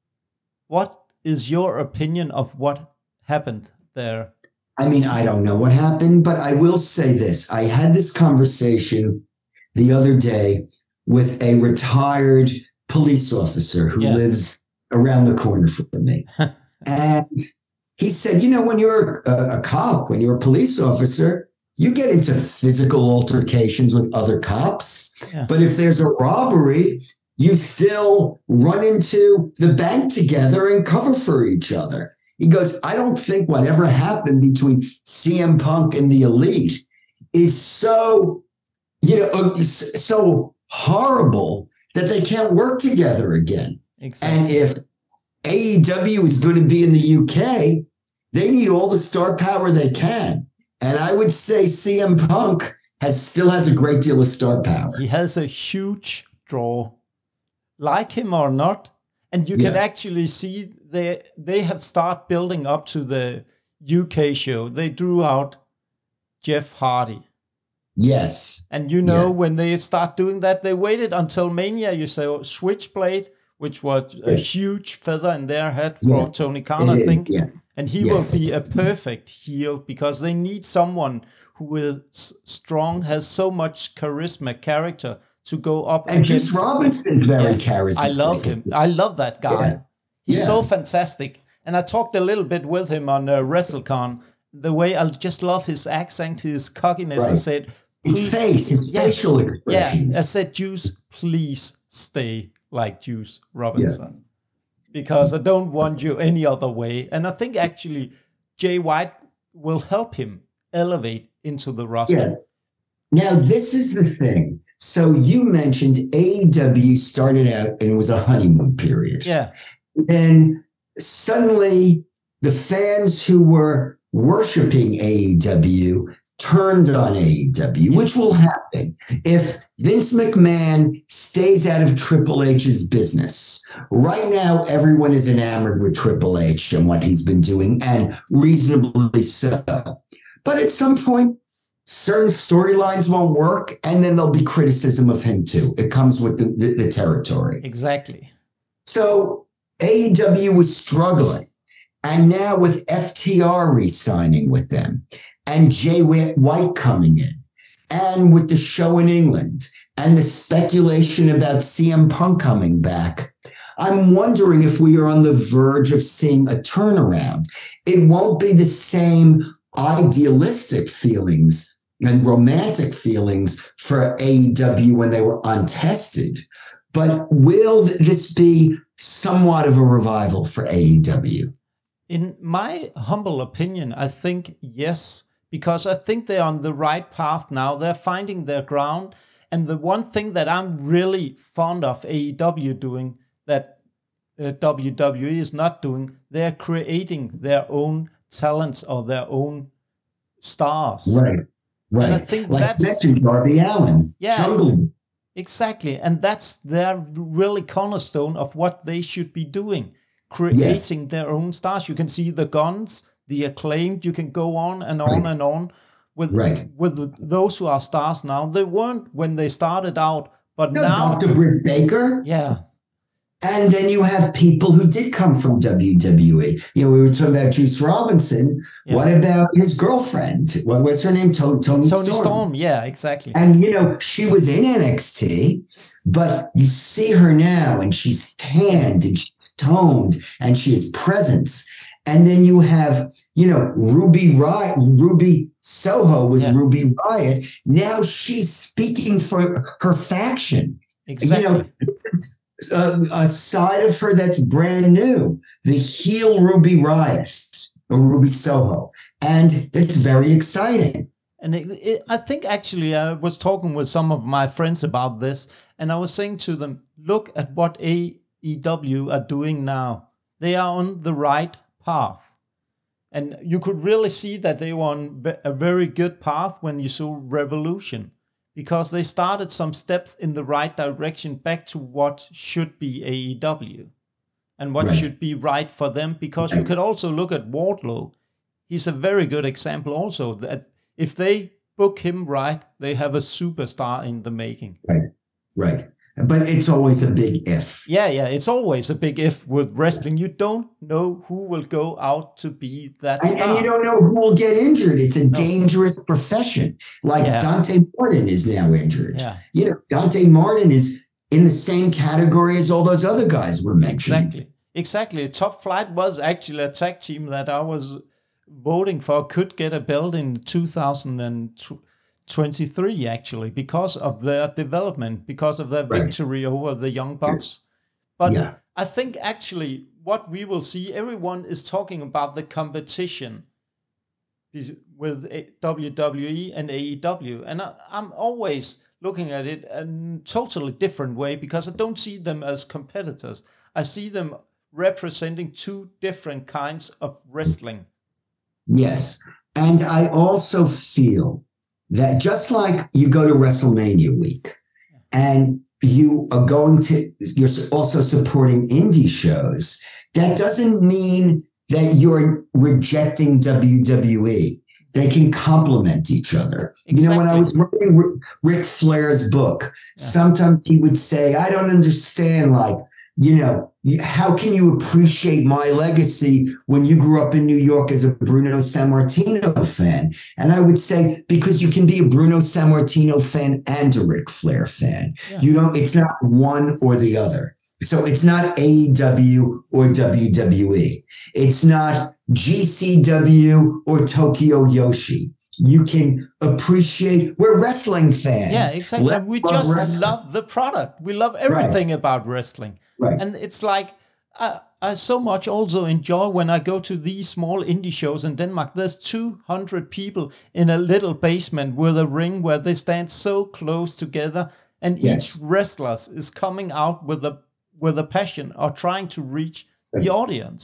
what is your opinion of what happened there? I mean, I don't know what happened, but I will say this. I had this conversation the other day with a retired police officer who yeah. lives around the corner from me. And he said, you know, when you're a, a cop, when you're a police officer, you get into physical altercations with other cops. Yeah. But if there's a robbery, you still run into the bank together and cover for each other. He goes, I don't think whatever happened between C M Punk and the Elite is so, you know, so horrible that they can't work together again. Exactly. And if A E W is going to be in the U K, they need all the star power they can. And I would say C M Punk has still has a great deal of star power. He has a huge draw, like him or not. And you can yeah. actually see they they have started building up to the U K show. They drew out Jeff Hardy. Yes. And you know, yes. when they start doing that, they waited until Mania. You say Switchblade, which was yes. a huge feather in their head for yes. Tony Khan, I think. Yes. And he yes. will be a perfect heel because they need someone who is strong, has so much charisma, character to go up and against. Juice Robinson's very yeah, charismatic. I love him. I love that guy. Yeah. He's yeah. so fantastic. And I talked a little bit with him on uh, WrestleCon. The way I just love his accent, his cockiness. Right. I said, his face, his yeah, facial expressions. Yeah, I said, Juice, please stay like Juice Robinson. Yeah. Because I don't want you any other way. And I think actually Jay White will help him elevate into the roster. Yes. Now, this is the thing. So you mentioned A E W started out and it was a honeymoon period. Yeah. Then suddenly the fans who were worshiping A E W turned on A E W, which will happen if Vince McMahon stays out of Triple H's business. Right now, everyone is enamored with Triple H and what he's been doing, and reasonably so. But at some point, certain storylines won't work, and then there'll be criticism of him too. It comes with the, the, the territory. Exactly. So A E W was struggling. And now with F T R re-signing with them, and Jay White coming in, and with the show in England, and the speculation about C M Punk coming back, I'm wondering if we are on the verge of seeing a turnaround. It won't be the same idealistic feelings and romantic feelings for A E W when they were untested, but will this be somewhat of a revival for A E W? In my humble opinion, I think yes, because I think they're on the right path now. They're finding their ground. And the one thing that I'm really fond of A E W doing that uh, W W E is not doing, they're creating their own talents or their own stars. Right, right. And I think like that's... mentioned Darby Allin, yeah, Jungle. Exactly. And that's their really cornerstone of what they should be doing. Creating yes. their own stars. You can see the Guns, the Acclaimed. You can go on and on right. and on with right. with those who are stars now. They weren't when they started out, but no, now Doctor Britt Baker. Yeah. And then you have people who did come from W W E. You know, we were talking about Juice Robinson. Yeah. What about his girlfriend? What was her name? Tony, Tony, Tony Storm. Storm. Yeah, exactly. And, you know, she was in N X T, but you see her now and she's tanned and she's toned and she has presence. And then you have, you know, Ruby Riot, Ruby Soho was yeah. Ruby Riot. Now she's speaking for her faction. Exactly. You know, A, a side of her that's brand new, the heel Ruby Riot or Ruby Soho, and it's very exciting. And it, it, I think actually I was talking with some of my friends about this, and I was saying to them, look at what A E W are doing now. They are on the right path. And you could really see that they were on a very good path when you saw Revolution, because they started some steps in the right direction back to what should be A E W and what right. should be right for them. Because you could also look at Wardlow. He's a very good example also that if they book him right, they have a superstar in the making. Right, right. But it's always a big if. Yeah, yeah. It's always a big if with wrestling. You don't know who will go out to be that and, star. And you don't know who will get injured. It's a no. dangerous profession. Like yeah. Dante Martin is now injured. Yeah. You know, Dante Martin is in the same category as all those other guys were mentioned. Exactly. Exactly. Top Flight was actually a tag team that I was voting for, could get a belt in two thousand twenty-three, actually, because of their development, because of their right. victory over the Young Bucks. Yes. But yeah. I think actually what we will see, everyone is talking about the competition with W W E and A E W. And I, I'm always looking at it in a totally different way, because I don't see them as competitors. I see them representing two different kinds of wrestling. Yes. And I also feel that just like you go to WrestleMania week and you are going to, you're also supporting indie shows, that doesn't mean that you're rejecting W W E. They can complement each other. Exactly. You know, when I was reading Ric Flair's book, yeah. sometimes he would say, I don't understand, like, you know, how can you appreciate my legacy when you grew up in New York as a Bruno Sammartino fan? And I would say, because you can be a Bruno Sammartino fan and a Ric Flair fan. Yeah. You know, it's not one or the other. So it's not A E W or W W E. It's not G C W or Tokyo Yoshi. You can appreciate, we're wrestling fans. Yeah, exactly. Let's we just wrestling. love the product. We love everything right. about wrestling. Right. And it's like, I, I so much also enjoy when I go to these small indie shows in Denmark. There's two hundred people in a little basement with a ring where they stand so close together, and yes. each wrestler is coming out with a with a passion or trying to reach right. the audience.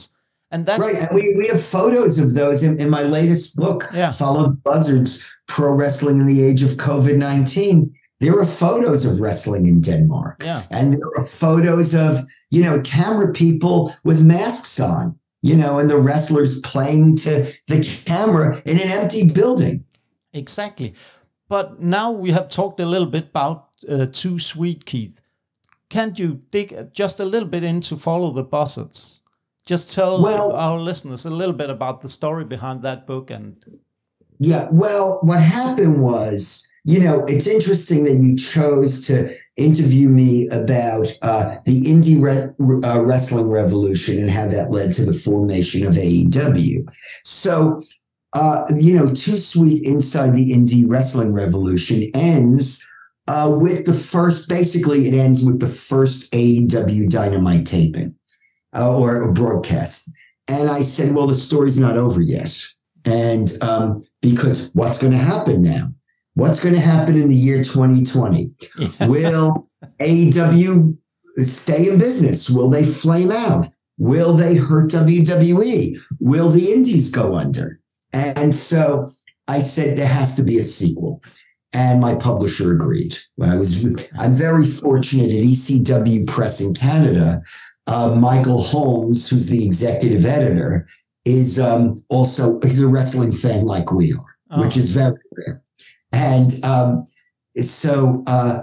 And that's right. And we, we have photos of those in, in my latest book, yeah. Follow the Buzzards, Pro Wrestling in the Age of COVID nineteen. There are photos of wrestling in Denmark. Yeah. And there are photos of, you know, camera people with masks on, you know, and the wrestlers playing to the camera in an empty building. Exactly. But now we have talked a little bit about uh, Too Sweet, Keith. Can't you dig just a little bit into Follow the Buzzards? Just tell well, our listeners a little bit about the story behind that book. And yeah, well, what happened was, you know, it's interesting that you chose to interview me about uh, the indie re- uh, wrestling revolution and how that led to the formation of A E W. So, uh, you know, Too Sweet Inside the Indie Wrestling Revolution ends uh, with the first, basically it ends with the first A E W Dynamite taping uh, or, or broadcast. And I said, well, the story's not over yet. And um, because what's going to happen now? What's going to happen in the year twenty twenty? Yeah. Will A E W stay in business? Will they flame out? Will they hurt W W E? Will the indies go under? And so I said there has to be a sequel. And my publisher agreed. I was, I'm very fortunate at E C W Press in Canada. Uh, Michael Holmes, who's the executive editor, is um, also, he's a wrestling fan like we are, oh. which is very rare. And um, so, uh,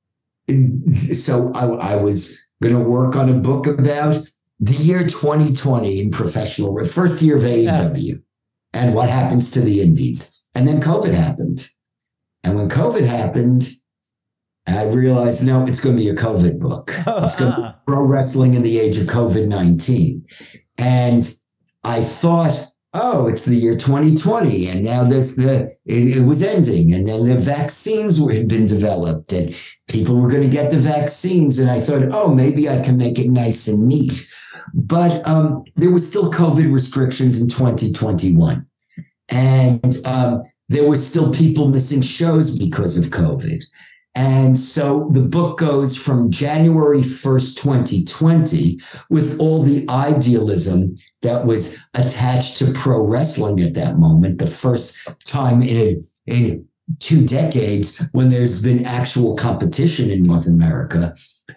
so I, I was going to work on a book about the year twenty twenty in professional, first year of A E W, yeah. and what happens to the indies. And then COVID happened. And when COVID happened, I realized, no, it's going to be a COVID book. It's going to be pro wrestling in the age of COVID nineteen. And I thought, oh, it's the year twenty twenty, and now that's the it, it was ending, and then the vaccines were, had been developed, and people were going to get the vaccines, and I thought, oh, maybe I can make it nice and neat. But um, there were still COVID restrictions in twenty twenty-one, and um, there were still people missing shows because of COVID. And so the book goes from January first, twenty twenty, with all the idealism that was attached to pro wrestling at that moment, the first time in, a, in two decades when there's been actual competition in North America,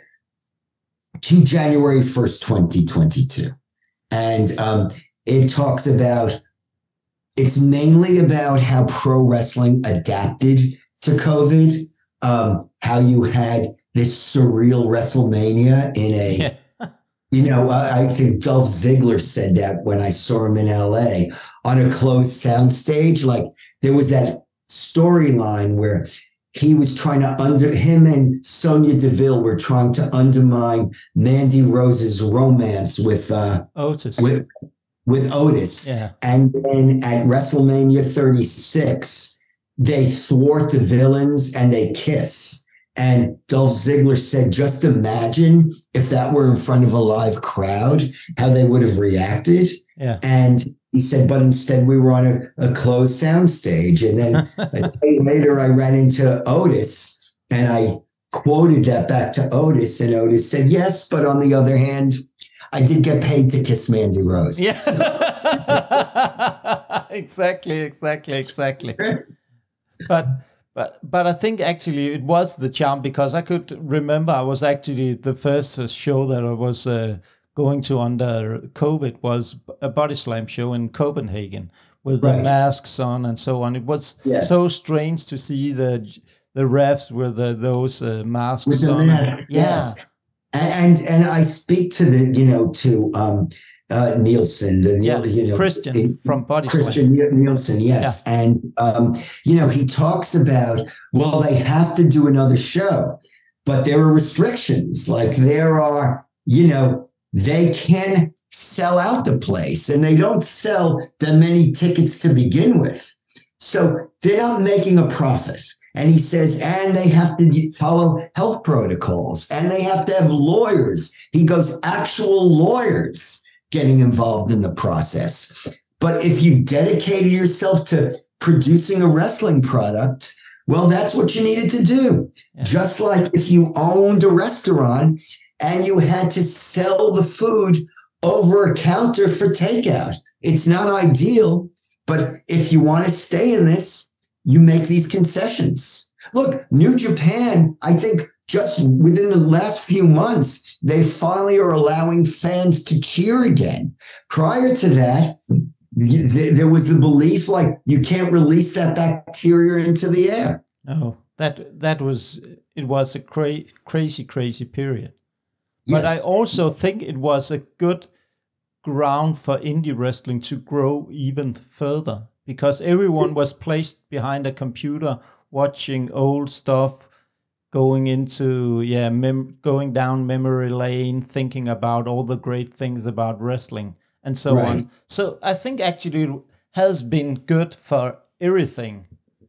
to January first, twenty twenty-two. And um, it talks about, it's mainly about how pro wrestling adapted to COVID. Um, how you had this surreal WrestleMania in a, yeah. you know, I, I think Dolph Ziggler said that when I saw him in L A on a closed soundstage. Like there was that storyline where he was trying to under him and Sonya Deville were trying to undermine Mandy Rose's romance with uh, Otis. With, with Otis. Yeah. And then at WrestleMania thirty-six, they thwart the villains and they kiss. And Dolph Ziggler said, just imagine if that were in front of a live crowd, how they would have reacted. Yeah. And he said, but instead we were on a, a closed sound stage. And then a day later, I ran into Otis and I quoted that back to Otis. And Otis said, yes, but on the other hand, I did get paid to kiss Mandy Rose. Yes. exactly, exactly, exactly. But but but I think actually it was the charm, because I could remember I was actually the first show that I was uh, going to under COVID was a body slam show in Copenhagen with right. the masks on and so on. It was yeah. so strange to see the the refs with the, those uh, masks with the on. Masks, yeah, yes. and and I speak to the you know to. Um, Uh, Nielsen, the yeah, you know Christian it, from Body Christian Slam. Nielsen, yes, yeah. and um, you know he talks about, well, they have to do another show, but there are restrictions. Like there are, you know, they can sell out the place, and they don't sell that many tickets to begin with, so they're not making a profit. And he says, and they have to follow health protocols, and they have to have lawyers. He goes, actual lawyers getting involved in the process. But if you've dedicated yourself to producing a wrestling product, well, that's what you needed to do. Yeah. Just like if you owned a restaurant and you had to sell the food over a counter for takeout. It's not ideal, but if you want to stay in this, you make these concessions. Look, New Japan, I think just within the last few months, they finally are allowing fans to cheer again. Prior to that, there was the belief like you can't release that bacteria into the air. No, that that was it was a cra- crazy, crazy period. Yes. But I also think it was a good ground for indie wrestling to grow even further, because everyone was placed behind a computer watching old stuff, going into yeah mem- going down memory lane, thinking about all the great things about wrestling and so Right. on. So I think actually it has been good for everything.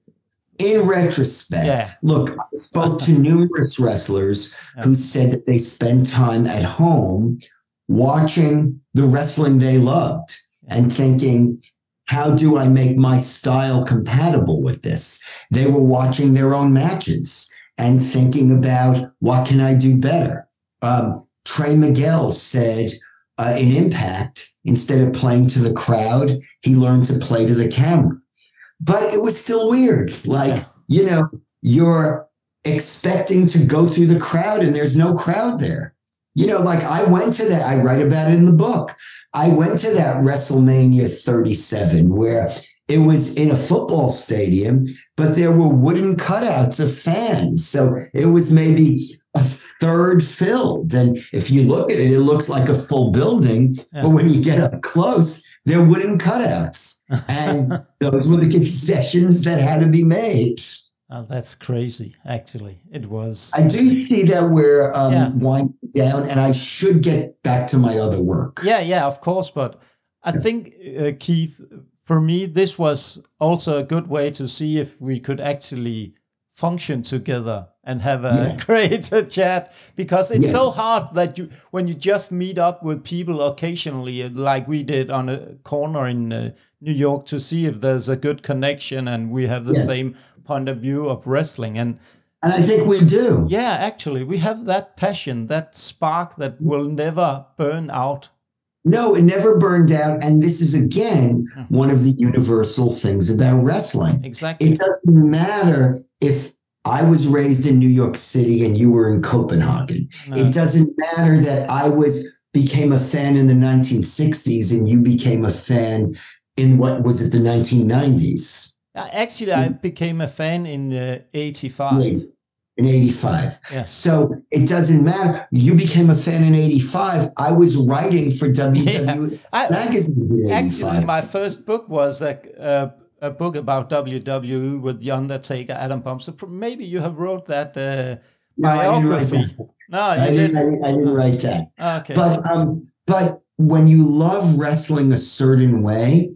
In retrospect, Yeah. look, I spoke to numerous wrestlers Yeah. who said that they spend time at home watching the wrestling they loved and thinking, how do I make my style compatible with this? They were watching their own matches and thinking about, what can I do better? Um, Trey Miguel said uh, in Impact, instead of playing to the crowd, he learned to play to the camera. But it was still weird. Like, Yeah. you know, you're expecting to go through the crowd and there's no crowd there. You know, like I went to that, I write about it in the book. I went to that WrestleMania thirty-seven where it was in a football stadium, but there were wooden cutouts of fans. So it was maybe a third filled. And if you look at it, it looks like a full building. Yeah. But when you get up close, they're wooden cutouts. And those were the concessions that had to be made. Oh, that's crazy, actually. It was. I do see that we're um, Yeah. winding down, and I should get back to my other work. Yeah, yeah, of course. But I think, uh, Keith, for me, this was also a good way to see if we could actually function together and have a Yes. great uh, chat, because it's Yes. so hard that you, when you just meet up with people occasionally, uh, like we did on a corner in uh, New York, to see if there's a good connection and we have the Yes. same point of view of wrestling. And And I think we do. yeah, actually, we have that passion, that spark that will never burn out. No, it never burned out. And this is, again, one of the universal things about wrestling. Exactly. It doesn't matter if I was raised in New York City and you were in Copenhagen. No. It doesn't matter that I was became a fan in the nineteen sixties and you became a fan in what was it, the nineteen nineties? Uh, Actually, I became a fan in uh, eighty-five. In eighty-five. Yeah. So it doesn't matter. You became a fan in eighty-five. I was writing for W W E I- magazines in Actually, eighty-five. my first book was a, a, a book about W W E with The Undertaker, Adam Pump. So pr- maybe you have wrote that uh, No, I didn't write biography. that. No, I you didn't, I didn't. didn't, I didn't write that. Okay. But um, but when you love wrestling a certain way,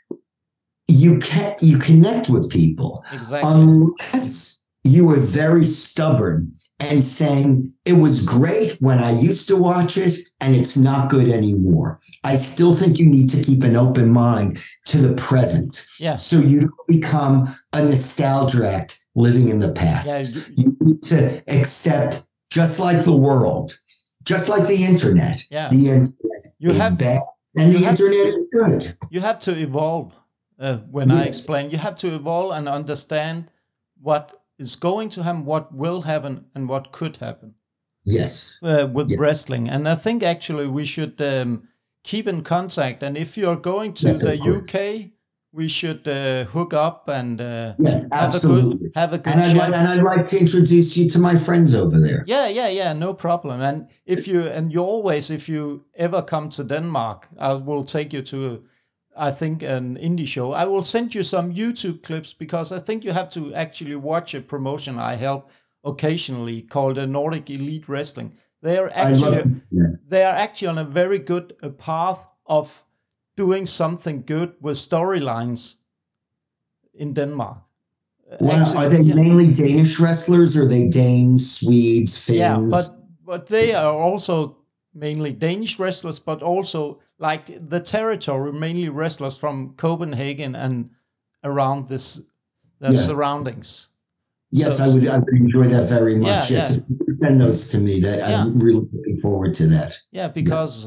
you can you connect with people. Exactly. Unless you are very stubborn and saying it was great when I used to watch it and it's not good anymore. I still think you need to keep an open mind to the present. Yeah. So you don't become a nostalgia living in the past. Yeah, you- You need to accept, just like the world, just like the internet. Yeah. The internet You is have- bad and you the have to- internet is good. You have to evolve. Uh, when I Yes. explain, you have to evolve and understand what is going to happen, what will happen, and what could happen Yes. uh, with Yeah. wrestling. And I think actually we should um, keep in contact. And if you're going to Yes, of the course. U K, we should uh, hook up and uh, Yes, have a absolutely. good have a good And I'd, chat. like, and I'd like to introduce you to my friends over there. Yeah, yeah, yeah, no problem. And if you and you always, if you ever come to Denmark, I will take you to, I think, an indie show. I will send you some YouTube clips, because I think you have to actually watch a promotion I help occasionally called the Nordic Elite Wrestling. They are I'd actually love to see that. they are actually on a very good uh, path of doing something good with storylines in Denmark. Uh, Wow. actually, Are they yeah. mainly Danish wrestlers or are they Danes, Swedes, Finns? Yeah, but but they are also mainly Danish wrestlers, but also like the territory, mainly wrestlers from Copenhagen and around this the Yeah. surroundings. yes, So- I would I would enjoy that very much. Yeah, yes, yeah. if you could send those to me, that Yeah. I'm really looking forward to that. Yeah, because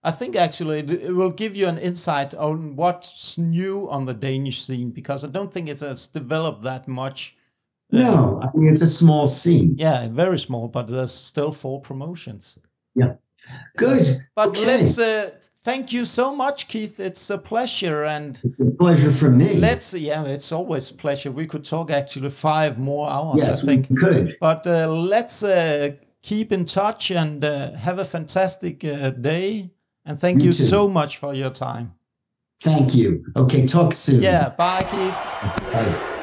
I think actually it, it will give you an insight on what's new on the Danish scene, because I don't think it has developed that much. No, I mean, it's a small scene. Yeah, very small, but there's still four promotions. Yeah. Good. So, but okay. let's uh, thank you so much, Keith. It's a pleasure, and it's a pleasure for me. Let's yeah, it's always a pleasure. We could talk actually five more hours. Yes, I think we could. But uh, let's uh, keep in touch and uh, have a fantastic uh, day. And thank you, you so much for your time. Thank you. Okay, talk soon. Yeah, bye, Keith. Bye.